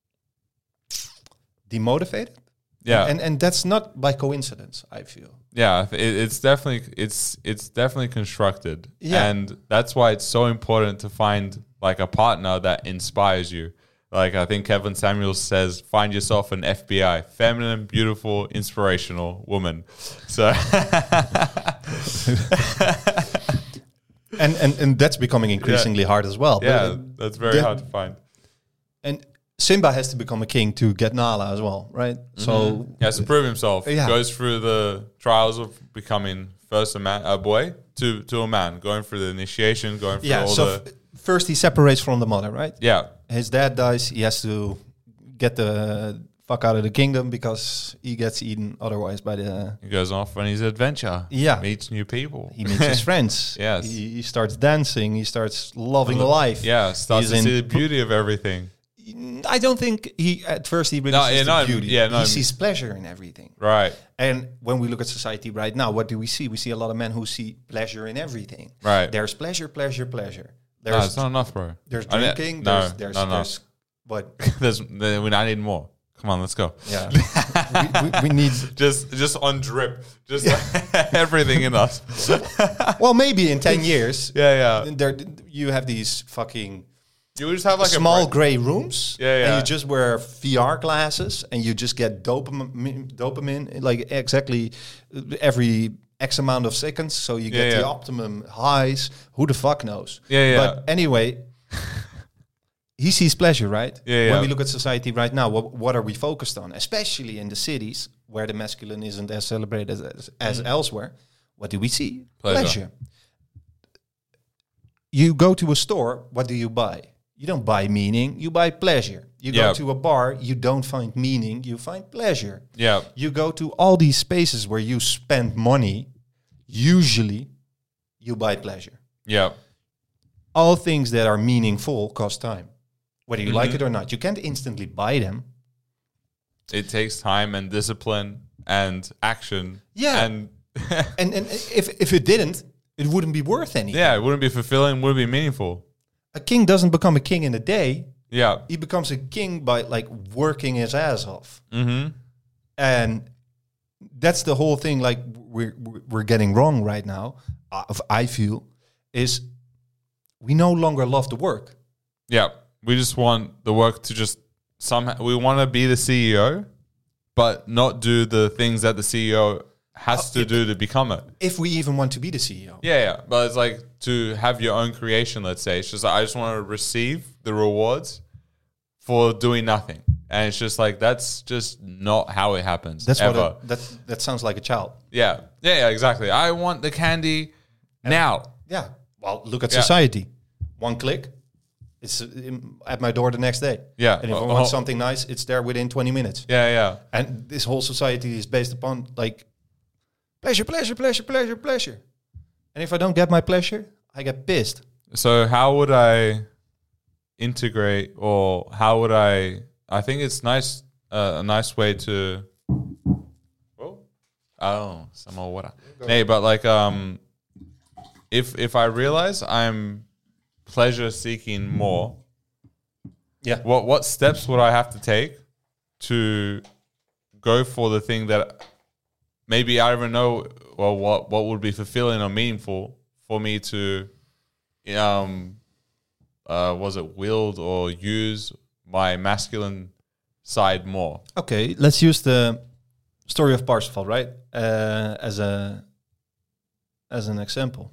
demotivated. Yeah. and and that's not by coincidence, I feel. Yeah, I th- it, it's definitely it's it's definitely constructed, Yeah. and that's why it's so important to find like a partner that inspires you. Like I think Kevin Samuels says, find yourself an F B I, feminine, beautiful, inspirational woman. So And and and that's becoming increasingly hard as well. yeah, But, that's very the- hard to find. and Simba has to become a king to get Nala as well, right? So He has to prove himself. Yeah. Goes through the trials of becoming first a man, a boy, to to a man, going through the initiation, going through yeah. all So the f- first he separates from the mother, right? yeah. His dad dies. He has to get the fuck out of the kingdom because he gets eaten otherwise by the. He goes off on his adventure. Yeah. Meets new people. He meets his friends. Yes. He, he starts dancing. He starts loving life. Yeah, starts He's to in see the beauty of everything. I don't think he at first he really No, sees yeah, the no, beauty. yeah, no, he I sees pleasure in everything. Right, And when we look at society right now, what do we see? We see a lot of men who see pleasure in everything. right. There's pleasure, pleasure, pleasure. No, There's it's not enough, bro. there's I ne- drinking. no, there's there's, no, no. there's what? There's, there, we, I need more. Come on, let's go. Yeah, we, we, we need. Just, just on drip, just everything in us. Well, maybe in ten years, Yeah, yeah. there you have these fucking You just have like small a break. gray rooms, Yeah, yeah. and you just wear V R glasses, and you just get dopamine, dopamine like exactly every X amount of seconds, so you get Yeah, the yeah. optimum highs. Who the fuck knows? Yeah, yeah. But anyway, he sees pleasure, right? Yeah, yeah. When we look at society right now, what, what are we focused on? Especially in the cities where the masculine isn't as celebrated as, as elsewhere. What do we see? Pleasure. Pleasure. You go to a store, what do you buy? You don't buy meaning, you buy pleasure. You Yeah. go to a bar, you don't find meaning, you find pleasure. Yeah, You go to all these spaces where you spend money, usually you buy pleasure. yeah, All things that are meaningful cost time, whether you like Mhm. it or not. You can't instantly buy them. it takes time and discipline and action. Yeah. and And, and if, if it didn't, it wouldn't be worth anything. yeah, it wouldn't be fulfilling. Wouldn't be meaningful. A king doesn't become a king in a day. Yeah. He becomes a king by like working his ass off. Mm-hmm. And that's the whole thing like we're we're getting wrong right now, uh, I feel, is we no longer love the work. Yeah, we just want the work to just somehow. We want to be the C E O, but not do the things that the C E O has to do to become it. If we even want to be the C E O. Yeah, yeah. But it's like to have your own creation, let's say. It's just like, I just want to receive the rewards for doing nothing. And it's just like, that's just not how it happens. That's ever. what it, that that sounds like a child. Yeah. Yeah, yeah, exactly. I want the candy and now. Yeah. Well, look at Yeah. society. One click, it's um, at my door the next day. Yeah. And if I Oh, want oh. something nice, it's there within twenty minutes. Yeah, yeah. And this whole society is based upon like pleasure, pleasure, pleasure, pleasure, pleasure. And if I don't get my pleasure, I get pissed. So how would I integrate, or how would I? I think it's nice, uh, a nice way to. Whoa, oh, some more water. Hey, but like, um, if if I realize I'm pleasure seeking more, Yeah. what what steps would I have to take to go for the thing that maybe I don't even know, well, what what would be fulfilling or meaningful for me to, um, uh, was it wield or use my masculine side more? Okay, let's use the story of Parsifal, right? Uh, as a as an example.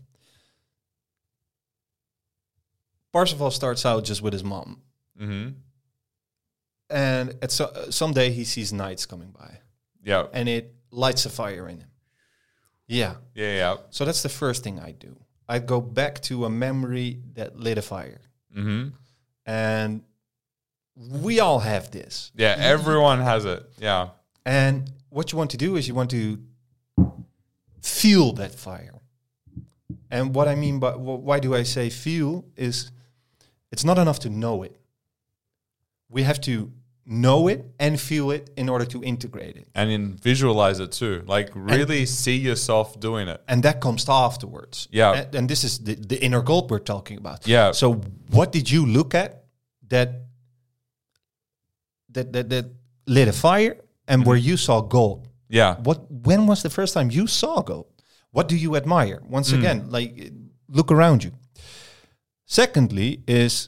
Parsifal starts out just with his mom. Mm-hmm. And at so, uh, someday he sees knights coming by. Yeah. And it lights a fire in him. Yeah. Yeah, yeah. So that's the first thing I do. I go back to a memory that lit a fire. Mm-hmm. And we all have this. Yeah, everyone has it. Yeah. And what you want to do is you want to feel that fire. And what I mean by, wh- why do I say feel, is it's not enough to know it. We have to know it and feel it in order to integrate it. And then visualize it too. Like really see yourself doing it. And that comes afterwards. Yeah. And, and this is the, the inner gold we're talking about. Yeah. So what did you look at that that that, that lit a fire and Mm-hmm. where you saw gold? Yeah. What when was the first time you saw gold? What do you admire? Once Mm. again, like look around you. Secondly is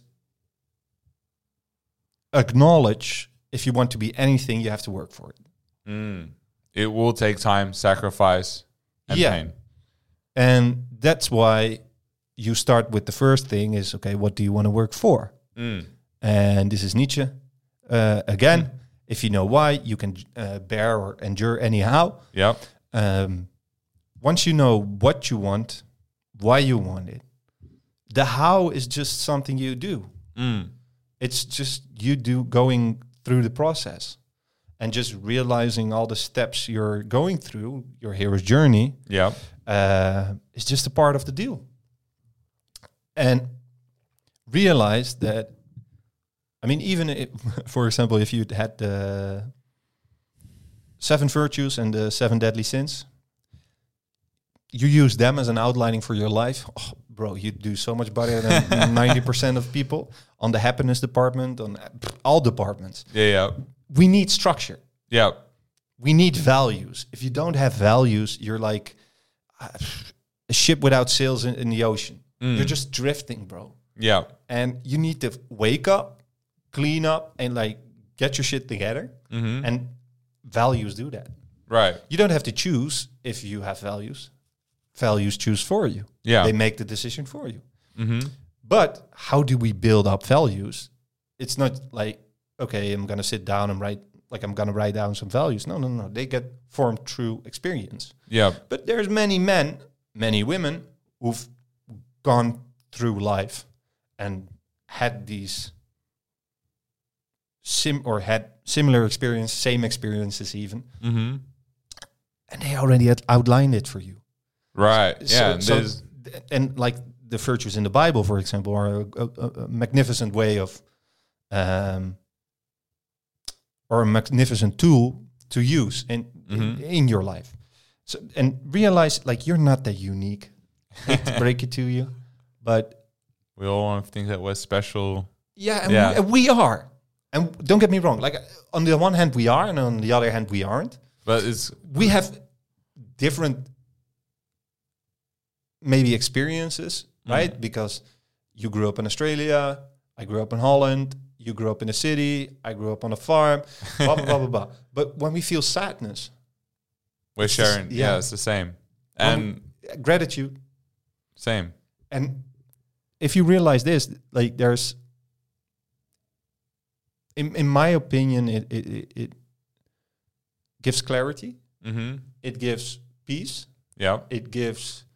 acknowledge, if you want to be anything, you have to work for it. Mm. It will take time, sacrifice, and Yeah. pain. And that's why you start with the first thing is, okay, what do you want to work for? Mm. And this is Nietzsche. Uh, again, if you know why, you can uh, bear or endure anyhow. Yep. Um, once you know what you want, why you want it, the how is just something you do. Mm. It's just you do going through the process and just realizing all the steps you're going through, your hero's journey, Yep. uh, is just a part of the deal. And realize that, I mean, even if, for example, if you had the seven virtues and the seven deadly sins, you use them as an outlining for your life, oh, bro, you do so much better than ninety percent of people on the happiness department, on all departments. Yeah, yeah. We need structure. Yeah. We need values. If you don't have values, you're like uh, a ship without sails in, in the ocean. Mm. You're just drifting, bro. Yeah. And you need to wake up, clean up, and like get your shit together. Mm-hmm. And values do that. Right. You don't have to choose if you have values. Values choose for you. Yeah. They make the decision for you. Mm-hmm. But how do we build up values? It's not like, okay, I'm going to sit down and write, like I'm going to write down some values. No, no, no. They get formed through experience. Yeah. But there's many men, many women who've gone through life and had these sim or had similar experience, same experiences even, Mm-hmm. and they already had outlined it for you. Right. So- Yeah. and so there's- th- and like the virtues in the Bible, for example, are a, a, a magnificent way of, um, or a magnificent tool to use in in, Mhm. in your life. So and realize like you're not that unique. Hate to break it to you, but we all want to think that we're special. yeah, and, Yeah. We, and we are. And don't get me wrong. Like on the one hand we are, and on the other hand we aren't. But it's We have different maybe experiences, right? Because You grew up in Australia. I grew up in Holland. You grew up in a city. I grew up on a farm. Blah, blah, blah, blah, blah. But when we feel sadness, we're sharing. Just, yeah. yeah, it's the same. When And we, gratitude. same. And if you realize this, like there's, in in my opinion, it it, it, it gives clarity. Mm-hmm. It gives peace. Yeah. It gives,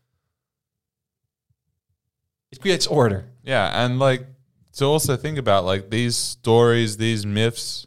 it creates order. Yeah. And like to also think about like these stories, these myths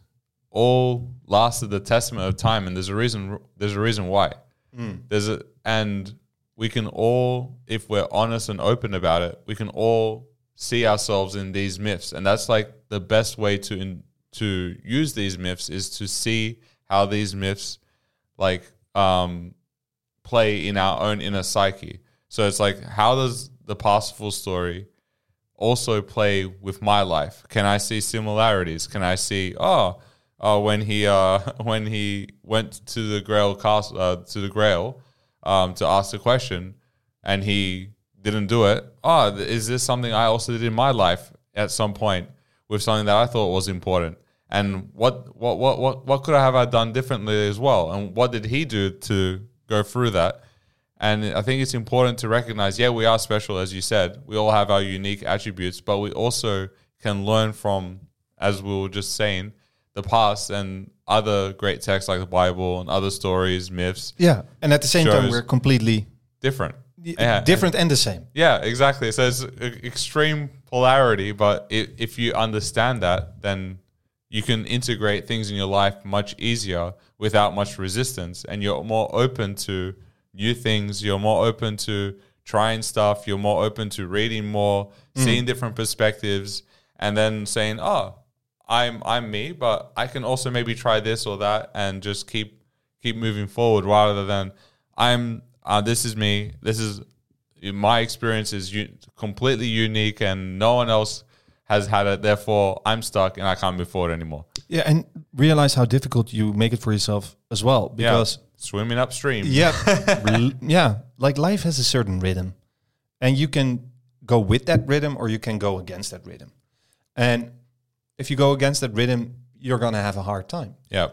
all lasted the testament of time. And there's a reason, there's a reason why. Mm. There's a, and we can all, if we're honest and open about it, we can all see ourselves in these myths. And that's like the best way to, in, to use these myths is to see how these myths like, um, play in our own inner psyche. So it's like, how does the pastful story also play with my life? Can I see similarities? Can I see, oh, oh when he uh, when he went to the Grail castle, uh, to the Grail, um, to ask the question, and he didn't do it. Oh, is this something I also did in my life at some point with something that I thought was important? And what what what what what could I have I done differently as well? And what did he do to go through that? And I think it's important to recognize, yeah, we are special, as you said. We all have our unique attributes, but we also can learn from, as we were just saying, the past and other great texts like the Bible and other stories, myths. Yeah, and at the same time, Shows- we're completely Different. y- Yeah, different and the same. Yeah, exactly. So it's a- extreme polarity, but i if you understand that, then you can integrate things in your life much easier without much resistance, and you're more open to new things. You're more open to trying stuff. You're more open to reading more, seeing different perspectives, and then saying, "Oh, I'm I'm me, but I can also maybe try this or that," and just keep keep moving forward rather than I'm. Uh, this is me. This is my experience is u- completely unique, and no one else has had it. Therefore, I'm stuck and I can't move forward anymore. Yeah, and realize how difficult you make it for yourself as well. Because Yeah. Swimming upstream. yeah, l- yeah, like life has a certain rhythm, and you can go with that rhythm or you can go against that rhythm. And if you go against that rhythm, you're gonna have a hard time. Yeah.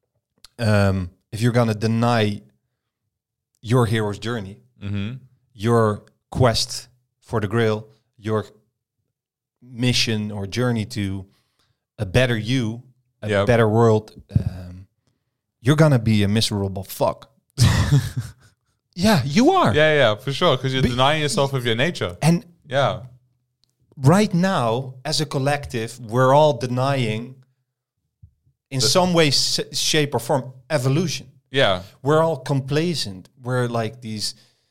Um, if you're gonna deny your hero's journey, Mm-hmm. your quest for the Grail, your mission or journey to a better you, a Yep. better world, um, you're gonna be a miserable fuck. Yeah, you are. Yeah, yeah, for sure. Because you're Be- denying yourself of your nature. And Yeah. right now, as a collective, we're all denying, in some way, s- shape, or form, evolution. Yeah. We're all complacent. We're like these.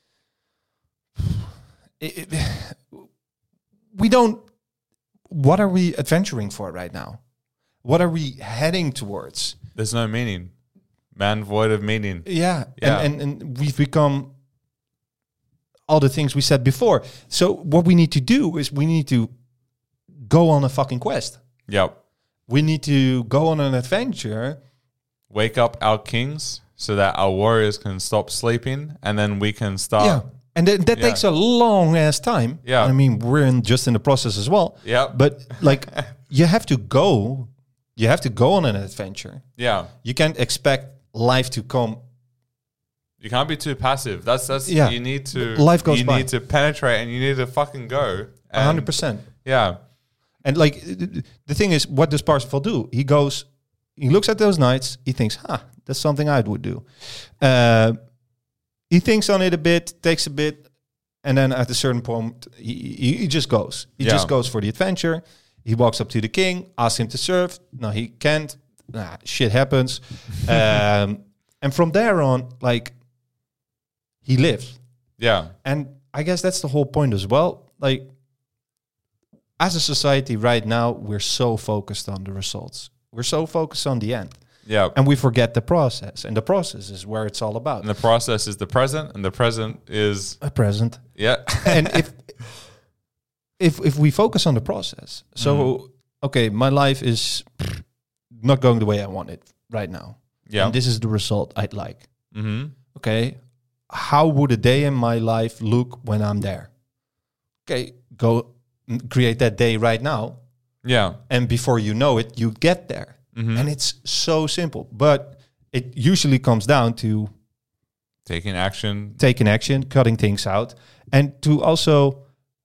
It- it- we don't. What are we adventuring for right now? What are we heading towards? There's no meaning. Man void of meaning. Yeah, Yeah. And, and and we've become all the things we said before. So what we need to do is we need to go on a fucking quest. Yep. We need to go on an adventure. Wake up our kings so that our warriors can stop sleeping, and then we can start. yeah, and that, that yeah. takes a long ass time. Yeah. I mean we're in just in the process as well. Yeah. But like you have to go, you have to go on an adventure. Yeah. You can't expect life to come. You can't be too passive. That's that's. Yeah. You need to. Life goes You by. need to penetrate, and you need to fucking go. A hundred And- percent. Yeah. And like the thing is, what does Parsifal do? He goes, he looks at those knights. He thinks, "Huh, that's something I would do." Uh, he thinks on it a bit, takes a bit, and then at a certain point, he, he, he just goes. He Yeah. just goes for the adventure. He walks up to the king, asks him to serve. No, he can't. Nah, shit happens. um, and from there on, like, he lives. Yeah. And I guess that's the whole point as well. Like, as a society right now, we're so focused on the results. We're so focused on the end. Yeah. And we forget the process. And the process is where it's all about. And the process is the present, and the present is A present. yeah. And if if if we focus on the process, so okay, my life is not going the way I want it right now. Yeah. And this is the result I'd like. Mm-hmm. Okay. How would a day in my life look when I'm there? Okay, go m- create that day right now. Yeah. And before you know it, you get there. Mhm. And it's so simple. But it usually comes down to Taking action. taking action, cutting things out, and to also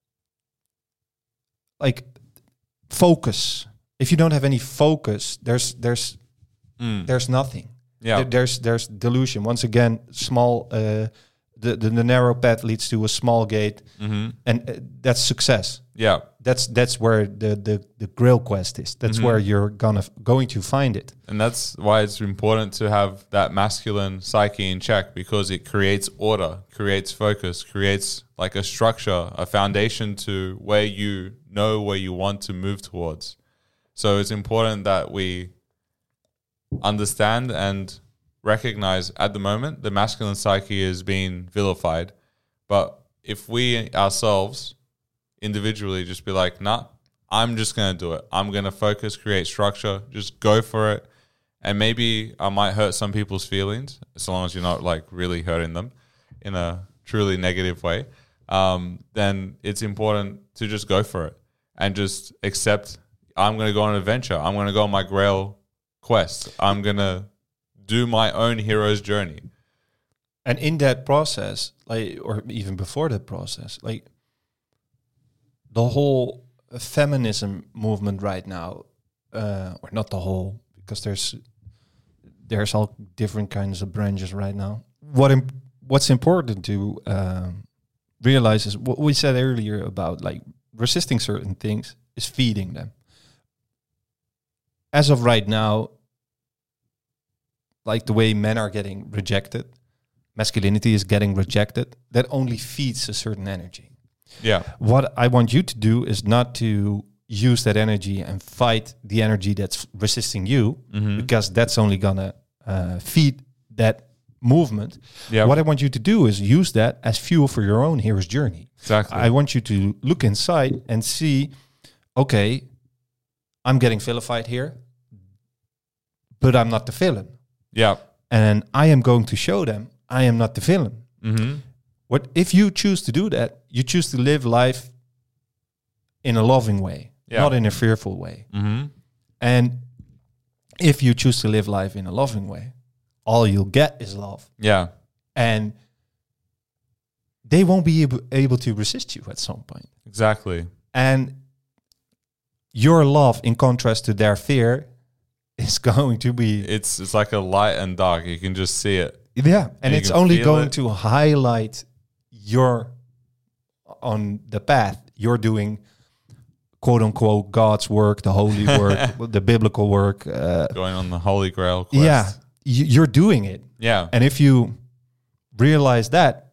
like focus. If you don't have any focus, there's there's Mm. there's nothing. Yeah. There- there's there's delusion. Once again, small uh, the, the the narrow path leads to a small gate, Mhm. and uh, that's success. Yeah. That's that's where the the the Grail quest is. That's Mhm. where you're gonna f- going to find it. And that's why it's important to have that masculine psyche in check, because it creates order, creates focus, creates like a structure, a foundation to where you know where you want to move towards. So it's important that we understand and recognize at the moment the masculine psyche is being vilified. But if we ourselves individually just be like, nah, I'm just going to do it. I'm going to focus, create structure, just go for it. And maybe I might hurt some people's feelings, as long as you're not like really hurting them in a truly negative way. Um, then it's important to just go for it and just accept, I'm going to go on an adventure. I'm going to go on my Grail quest. I'm going to do my own hero's journey. And in that process, like, or even before that process, like the whole feminism movement right now, uh, or not the whole, because there's there's all different kinds of branches right now. What imp- what's important to um, realize is what we said earlier about like resisting certain things is feeding them. As of right now, like the way men are getting rejected, masculinity is getting rejected, that only feeds a certain energy. Yeah. What I want you to do is not to use that energy and fight the energy that's resisting you, Mhm. because that's only gonna uh, feed that movement. Yeah. What I want you to do is use that as fuel for your own hero's journey. Exactly. I want you to look inside and see, okay, I'm getting vilified here, but I'm not the villain. yeah. And I am going to show them I am not the villain. Mm-hmm. What if you choose to do that? You choose to live life in a loving way, Yeah. not in a fearful way. Mm-hmm. And if you choose to live life in a loving way, all you'll get is love. Yeah. And they won't be able, able to resist you at some point. Exactly. And your love, in contrast to their fear, is going to be It's it's like a light and dark. You can just see it. yeah, and you it's can only feel going it. to highlight your on the path you're doing, quote unquote, God's work, the holy work, the biblical work. Uh, Going on the Holy Grail quest. yeah, y- you're doing it, Yeah. and if you realize that,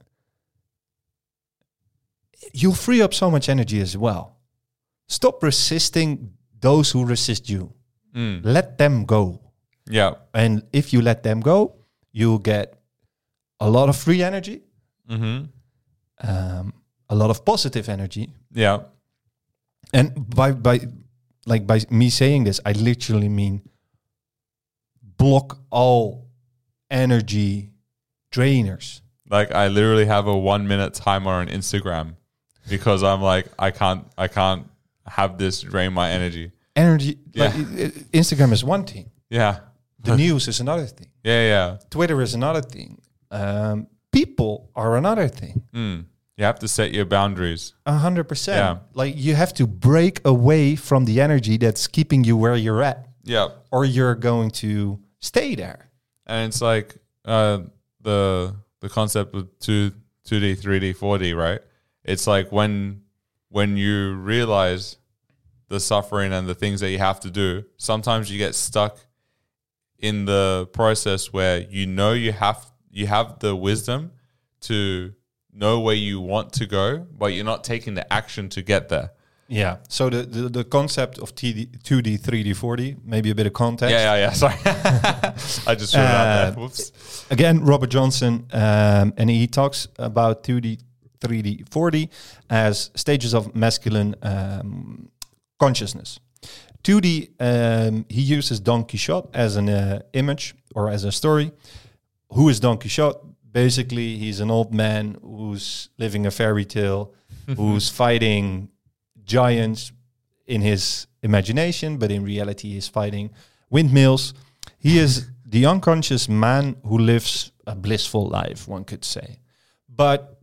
you'll free up so much energy as well. Stop resisting those who resist you. Mm. Let them go. Yeah. And if you let them go, you'll get a lot of free energy, Mm-hmm. um, a lot of positive energy. Yeah. And by by like by me saying this, I literally mean block all energy drainers. Like I literally have a one minute timer on Instagram because I'm like I can't I can't have this drain my energy. Energy. Yeah. Like, i- i- Instagram is one thing. Yeah. The news is another thing. Yeah. Yeah. Twitter is another thing. Um, people are another thing. Mm. You have to set your boundaries. A hundred percent. Yeah. Like you have to break away from the energy that's keeping you where you're at, Yeah. or you're going to stay there. And it's like uh, the the concept of two two D, three D, four D, right? It's like when when you realize the suffering and the things that you have to do, sometimes you get stuck in the process where you know you have you have the wisdom to know where you want to go, but you're not taking the action to get there. Yeah. So the the, the concept of T D, two D, three D, four D, maybe a bit of context. Yeah, yeah, yeah. Sorry, I just threw it out Uh, there. Whoops. Again, Robert Johnson, um, and he talks about two D, three D, four D as stages of masculine um, consciousness. two D, um, he uses Don Quixote as an uh, image or as a story. Who is Don Quixote? Basically, he's an old man who's living a fairy tale, who's fighting giants in his imagination, but in reality he's fighting windmills. He is the unconscious man who lives a blissful life, one could say. But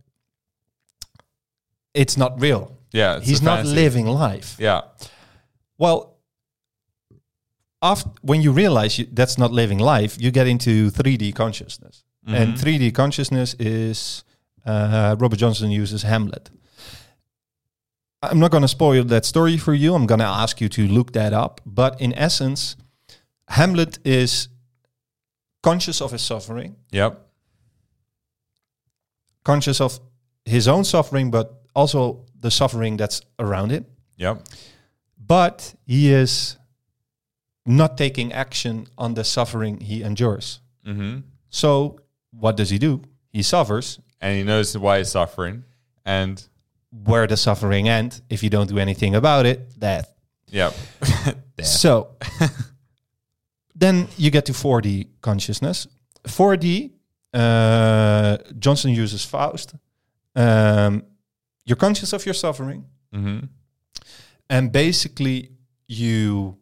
it's not real. Yeah, it's he's a not fantasy. living life. Yeah. Well, after, when you realize you, that's not living life, you get into three D consciousness. Mm-hmm. And three D consciousness is, uh, Robert Johnson uses Hamlet. I'm not going to spoil that story for you. I'm going to ask you to look that up. But in essence, Hamlet is conscious of his suffering, Yep. conscious of his own suffering, but also the suffering that's around it. Yep. But he is not taking action on the suffering he endures. Mm-hmm. So what does he do? He suffers. And he knows why he's suffering. And Where does suffering end? If you don't do anything about it, death. yep. So then you get to four D consciousness. four D, uh, Johnson uses Faust. Um, you're conscious of your suffering. Mm-hmm. And basically you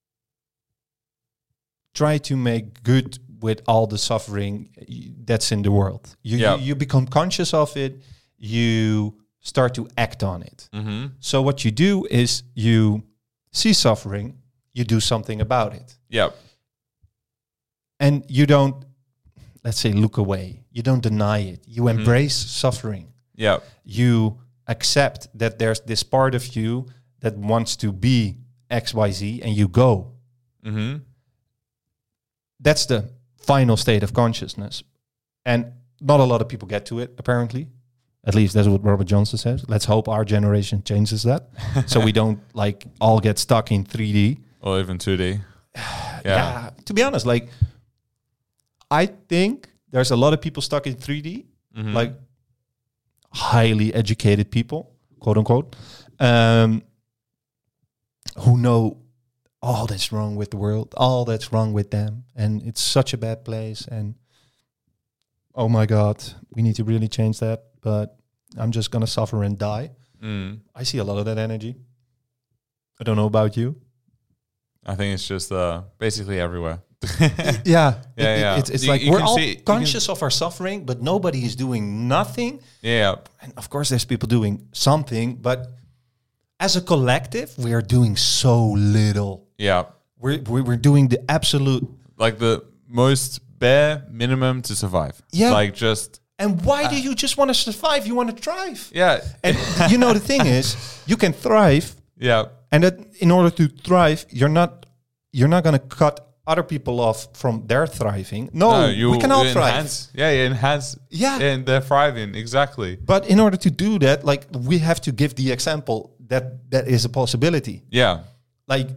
try to make good with all the suffering y- that's in the world. You, Yeah. you, you become conscious of it. You start to act on it. Mm-hmm. So what you do is you see suffering, you do something about it. Yep. And you don't, let's say, look away. You don't deny it. You Mm-hmm. embrace suffering. Yep. You accept that there's this part of you that wants to be X Y Z, and you go. Mm-hmm. That's the final state of consciousness. And not a lot of people get to it, apparently. At least that's what Robert Johnson says. Let's hope our generation changes that. So we don't like all get stuck in three D. Or even two D. Yeah. Yeah. To be honest, like, I think there's a lot of people stuck in three D, Mhm. like highly educated people, quote unquote, um, who know all that's wrong with the world, all that's wrong with them, and it's such a bad place. And oh my God, we need to really change that. But I'm just gonna suffer and die. Mm. I see a lot of that energy. I don't know about you. I think it's just uh, basically everywhere. Yeah, Yeah, It- yeah. It's, it's You- like you we're can all see- you conscious of our suffering, but nobody is doing nothing. Yeah. And of course, there's people doing something, but as a collective, we are doing so little. Yeah. We're we're, we're doing the absolute. Like the most bare minimum to survive. Yeah. Like just, And why do you just want to survive? You want to thrive. yeah. And you know the thing is, you can thrive, Yeah. and that in order to thrive, you're not you're not going to cut other people off from their thriving. No, No, you, we can all you thrive. enhance. Yeah, you enhance. Yeah. And they're thriving. Exactly. But in order to do that, like, we have to give the example that that is a possibility. Yeah. Like,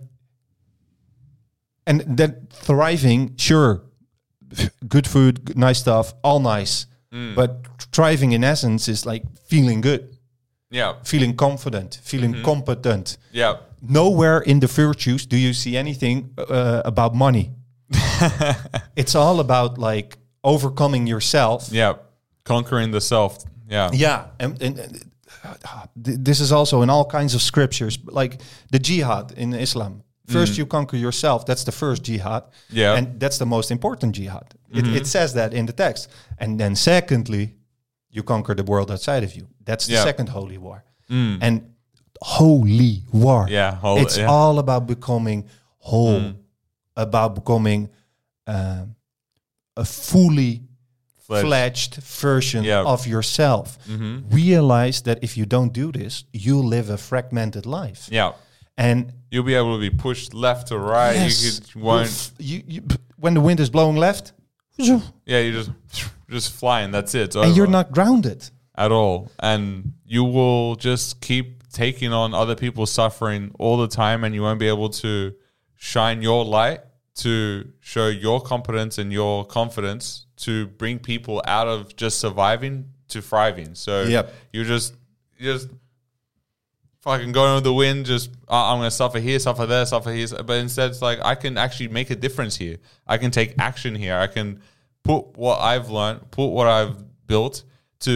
and that thriving, sure, good food, good, nice stuff, all nice. Mm. But thriving in essence is like feeling good, Yeah. feeling confident, feeling Mm-hmm. competent. Yeah. Nowhere in the virtues do you see anything uh, about money. It's all about like overcoming yourself. Yeah. Conquering the self. Yeah. Yeah, and, and, and uh, th- this is also in all kinds of scriptures, like the jihad in Islam. First, you conquer yourself. That's the first jihad. Yeah. And that's the most important jihad. It, it says that in the text. And then secondly, you conquer the world outside of you. That's the Yeah. second holy war. And holy war. Yeah, whole- it's yeah. all about becoming whole, about becoming um, a fully Fledged. fledged version Yeah. of yourself. Realize that if you don't do this, you'll live a fragmented life. Yeah. And You'll be able to be pushed left to right. yes, You could you'll won't. f- you, you, when the wind is blowing left, and Yeah, you just just flying. That's it. It's you're over. not grounded. at all, and you will just keep taking on other people's suffering all the time, and you won't be able to shine your light to show your competence and your confidence to bring people out of just surviving to thriving. So Yep. you just you just fucking going with the wind, just uh, I'm going to suffer here, suffer there, suffer here. But instead, it's like I can actually make a difference here. I can take action here. I can put what I've learned, put what I've built to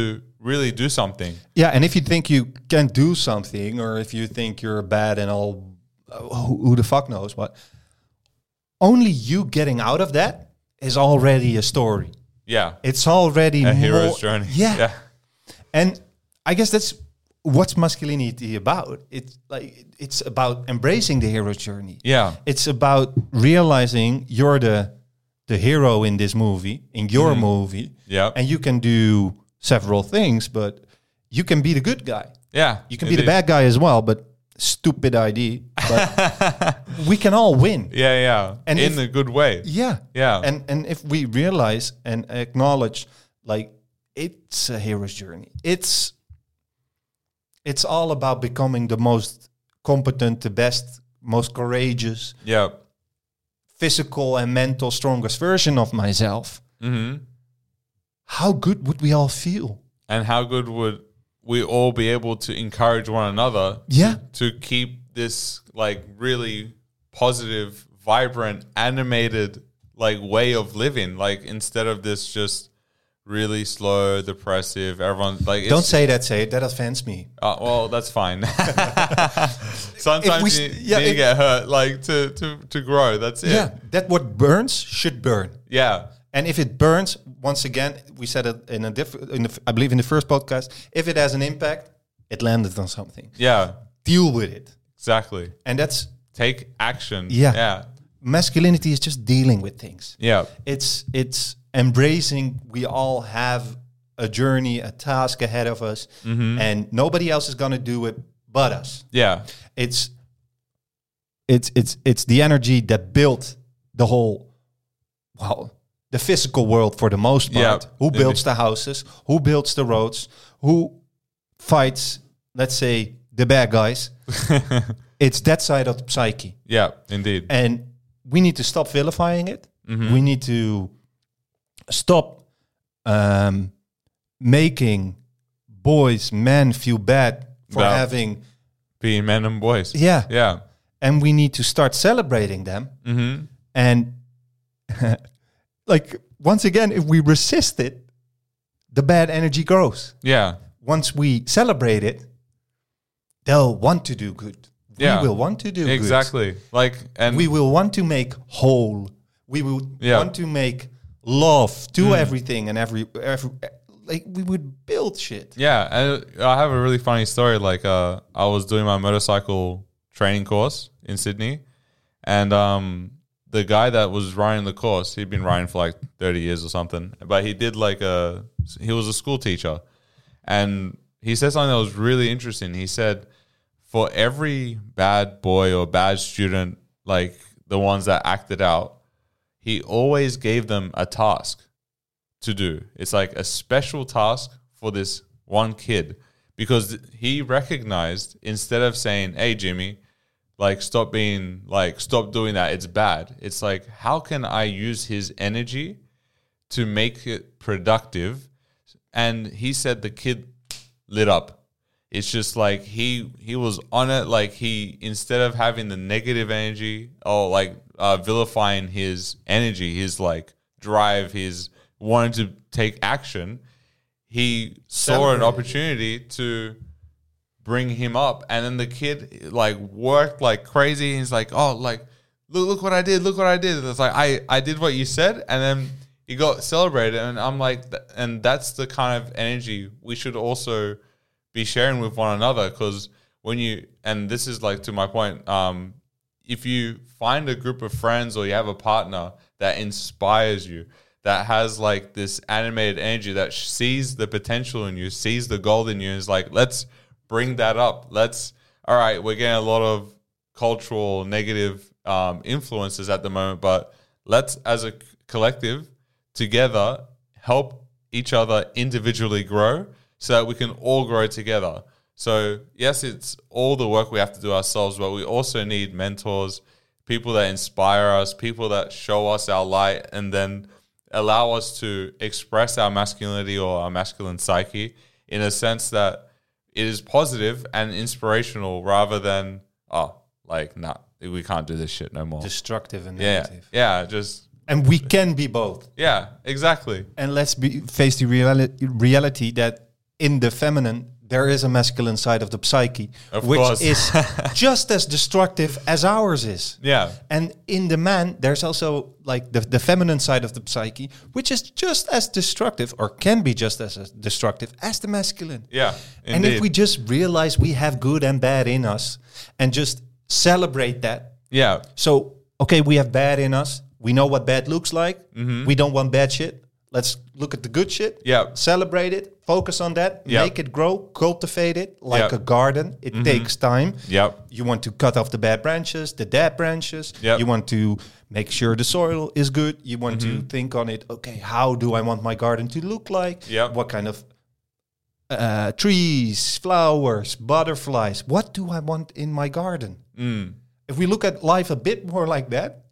really do something. Yeah, and if you think you can do something, or if you think you're bad and all, uh, who, who the fuck knows what, only you getting out of that is already a story. Yeah. It's already A more, hero's journey. Yeah. Yeah. And I guess that's what's masculinity about. It's like it's about embracing the hero's journey. Yeah. It's about realizing you're the the hero in this movie, in your Mhm. movie. Yeah. And you can do several things, but you can be the good guy. Yeah. You can be the bad guy as well, but stupid idea. But we can all win. Yeah, yeah. And in if- a good way. Yeah. Yeah. And and if we realize and acknowledge, like, it's a hero's journey. It's it's all about becoming the most competent, the best, most courageous, Yeah. physical and mental strongest version of myself. hmm How good would we all feel? And how good would we all be able to encourage one another Yeah. to keep this like really positive, vibrant, animated like way of living, like instead of this just really slow, depressive, everyone like Don't it's, say that, say it. That offends me. uh, well, that's fine. Sometimes we you, s- yeah, you if- get hurt like to, to, to grow. That's it. Yeah. That what burns should burn. Yeah. And if it burns, once again, we said it in a different, in the, I believe in the first podcast, if it has an impact, it landed on something. Yeah. Deal with it. Exactly. And that's, Take action. Yeah. Yeah. masculinity is just dealing with things. Yeah. It's, it's embracing, we all have a journey, a task ahead of us, Mhm. and nobody else is going to do it but us. Yeah. It's, it's, it's, it's the energy that built the whole, well, the physical world for the most part. Yeah. Who builds the houses? Who builds the roads? Who fights, let's say, the bad guys? It's that side of the psyche. Yeah, indeed. And we need to stop vilifying it. Mhm. We need to stop um, making boys, men feel bad for About- having, Being men and boys. yeah. Yeah. And we need to start celebrating them. Mm-hmm. And like, once again, if we resist it, the bad energy grows. Yeah. Once we celebrate it, they'll want to do good. Yeah. We will want to do good. Exactly. Like, and We will want to make whole. We will Yeah. want to make love to Mm. everything and every, every, like, we would build shit. yeah, and I have a really funny story. Like, uh, I was doing my motorcycle training course in Sydney, and um, the guy that was running the course, he'd been riding for like thirty years or something, but he did like a, he was a school teacher, and he said something that was really interesting. He said, for every bad boy or bad student, like the ones that acted out, he always gave them a task to do. It's like a special task for this one kid, because he recognized, instead of saying, hey, Jimmy, like, stop being like, stop doing that, it's bad. It's like, how can I use his energy to make it productive? And he said the kid lit up. It's just like he he was on it. Like, he, instead of having the negative energy or like uh, vilifying his energy, his like drive, his wanting to take action, he saw an Celebrated. opportunity to bring him up. And then the kid like worked like crazy. He's like, oh, like, look, look what I did. Look what I did. And it's like, I, I did what you said. And then he got celebrated. And I'm like, th- and that's the kind of energy we should also be sharing with one another. Because when you, and this is like to my point, um, if you find a group of friends or you have a partner that inspires you, that has like this animated energy, that sh- sees the potential in you, sees the gold in you, and is like, let's bring that up. Let's, all right, we're getting a lot of cultural negative um, influences at the moment, but let's, as a c- collective, together, help each other individually grow so that we can all grow together. So yes, it's all the work we have to do ourselves, but we also need mentors, people that inspire us, people that show us our light, and then allow us to express our masculinity or our masculine psyche in a sense that it is positive and inspirational, rather than, oh, like, nah, we can't do this shit no more. Destructive and yeah, negative. yeah, just, And we can be both. yeah, exactly. And let's be face the reali- reality that in the feminine, there is a masculine side of the psyche, Of which course. is just as destructive as ours is. Yeah. And in the man, there's also like the, the feminine side of the psyche, which is just as destructive, or can be just as as destructive as the masculine. Yeah. And if indeed. we just realize we have good and bad in us and just celebrate that. Yeah. So, okay, we have bad in us. We know what bad looks like. We don't want bad shit. Let's look at the good shit. Yeah. Celebrate it. Focus on that. Yeah. Make it grow. Cultivate it like Yeah. a garden. It takes time. Yep. You want to cut off the bad branches, the dead branches. Yep. You want to make sure the soil is good. You want to think on it. Okay, how do I want my garden to look like? Yep. What kind of uh, trees, flowers, butterflies? What do I want in my garden? Mm. If we look at life a bit more like that,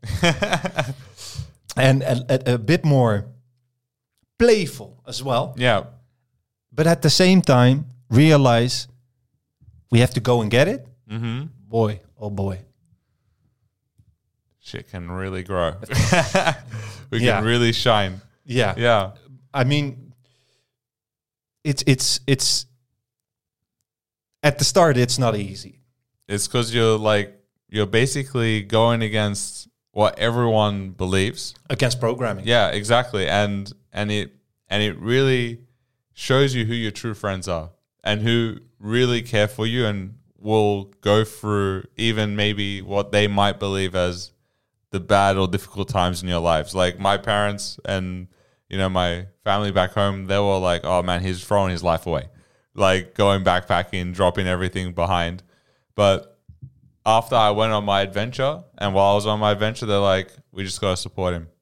and a, a, a bit more playful as well, Yeah. but at the same time realize we have to go and get it. Mm-hmm. Boy, oh boy. Shit can really grow. we Yeah. can really shine. Yeah. Yeah. I mean, it's it's it's at the start it's not easy. It's because you're like, you're basically going against what everyone believes. Against programming. Yeah, exactly. And and it and it really shows you who your true friends are and who really care for you and will go through even maybe what they might believe as the bad or difficult times in your lives. Like my parents and, you know, my family back home, they were like, oh man, he's throwing his life away. Like going backpacking, dropping everything behind. But after I went on my adventure, and while I was on my adventure, they're like, we just got to support him.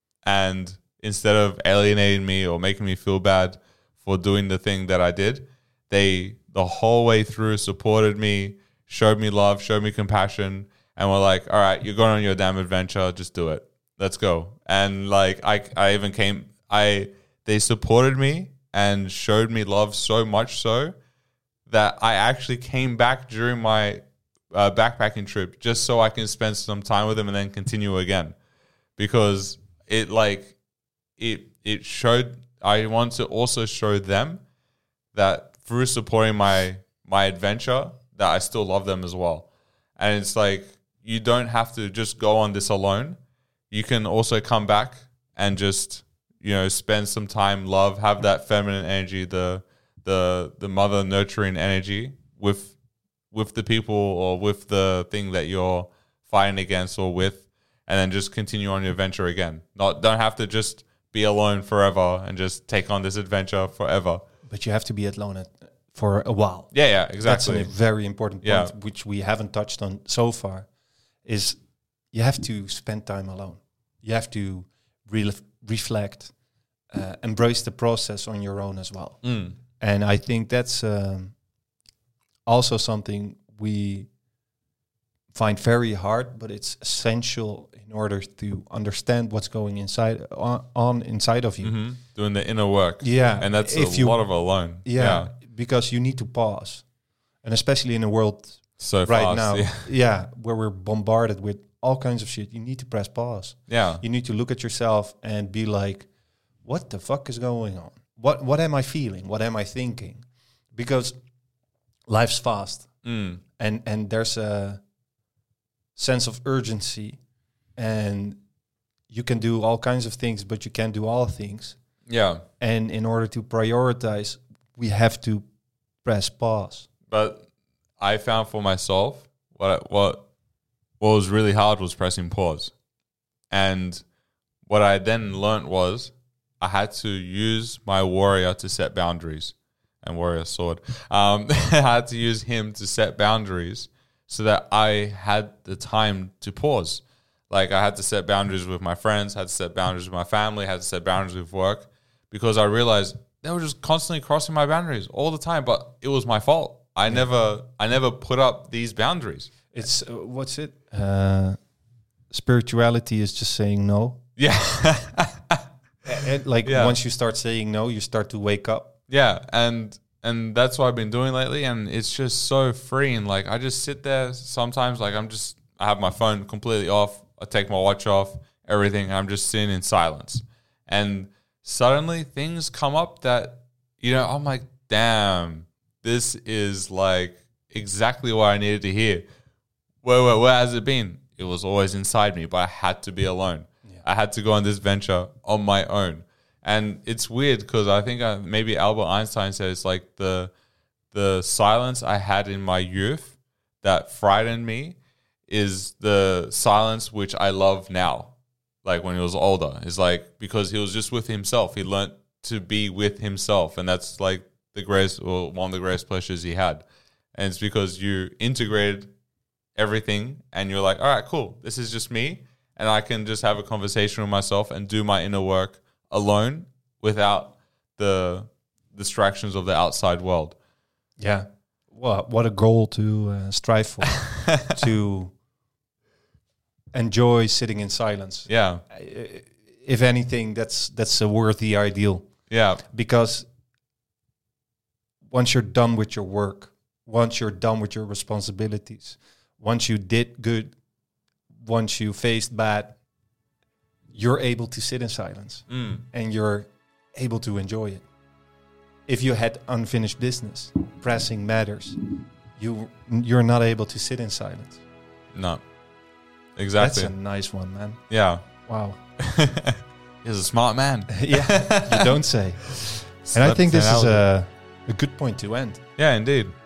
And instead of alienating me or making me feel bad for doing the thing that I did, they, the whole way through, supported me, showed me love, showed me compassion, and were like, all right, you're going on your damn adventure, just do it. Let's go. And like, I, I even came, I, they supported me and showed me love so much so that I actually came back during my uh, backpacking trip just so I can spend some time with them and then continue again, because it like it it showed, I want to also show them that through supporting my my adventure that I still love them as well. And it's like, you don't have to just go on this alone. You can also come back and just, you know, spend some time, love, have that feminine energy, the the the mother nurturing energy with with the people or with the thing that you're fighting against or with, and then just continue on your adventure again. Not don't have to just be alone forever and just take on this adventure forever. But you have to be alone at, for a while. Yeah, yeah, exactly. That's a very important point, Yeah. which we haven't touched on so far, is you have to spend time alone. You have to re- reflect, uh, embrace the process on your own as well. Mm. And I think that's um, also something we find very hard, but it's essential in order to understand what's going inside on, on inside of you. hmm Doing the inner work. Yeah, And that's if a you- lot of alone. Yeah, because you need to pause, and especially in a world So right fast. now, Yeah. yeah, where we're bombarded with all kinds of shit, you need to press pause. yeah. You need to look at yourself and be like, what the fuck is going on? What what am I feeling? What am I thinking? Because life's fast, Mm. and and there's a sense of urgency, and you can do all kinds of things, but you can't do all things. Yeah. And in order to prioritize, we have to press pause. But I found for myself what I, what what was really hard was pressing pause. And what I then learnt was I had to use my warrior to set boundaries, and warrior sword. Um, I had to use him to set boundaries so that I had the time to pause. Like I had to set boundaries with my friends, had to set boundaries with my family, had to set boundaries with work, because I realized they were just constantly crossing my boundaries all the time, but it was my fault. I yeah. never I never put up these boundaries. It's, uh, what's it? Uh, spirituality is just saying no. Yeah. And like Yeah. once you start saying no, you start to wake up. Yeah, and and that's what I've been doing lately, and it's just so freeing. Like I just sit there sometimes, like I'm just I have my phone completely off, I take my watch off, everything, I'm just sitting in silence. And suddenly things come up that, you know, I'm like, damn, this is like exactly what I needed to hear. Where, where, where has it been? It was always inside me, but I had to be alone. Yeah. I had to go on this venture on my own. And it's weird because I think I, maybe Albert Einstein said it's like the the silence I had in my youth that frightened me is the silence which I love now. Like when he was older. It's like because he was just with himself. He learned to be with himself. And that's like the greatest, or one of the greatest pleasures he had. And it's because you integrated everything and you're like, all right, cool. This is just me. And I can just have a conversation with myself and do my inner work alone without the distractions of the outside world. Yeah. Well, what a goal to uh, strive for. To enjoy sitting in silence. Yeah. If anything, that's that's a worthy ideal. Yeah. Because once you're done with your work, once you're done with your responsibilities, once you did good, once you faced bad, you're able to sit in silence mm. and you're able to enjoy it. If you had unfinished business, pressing matters, you you're not able to sit in silence. No, exactly. That's a nice one, man. Yeah. Wow. He's a smart man. Yeah, you don't say. And I think this is a, a good point to end. Yeah, indeed.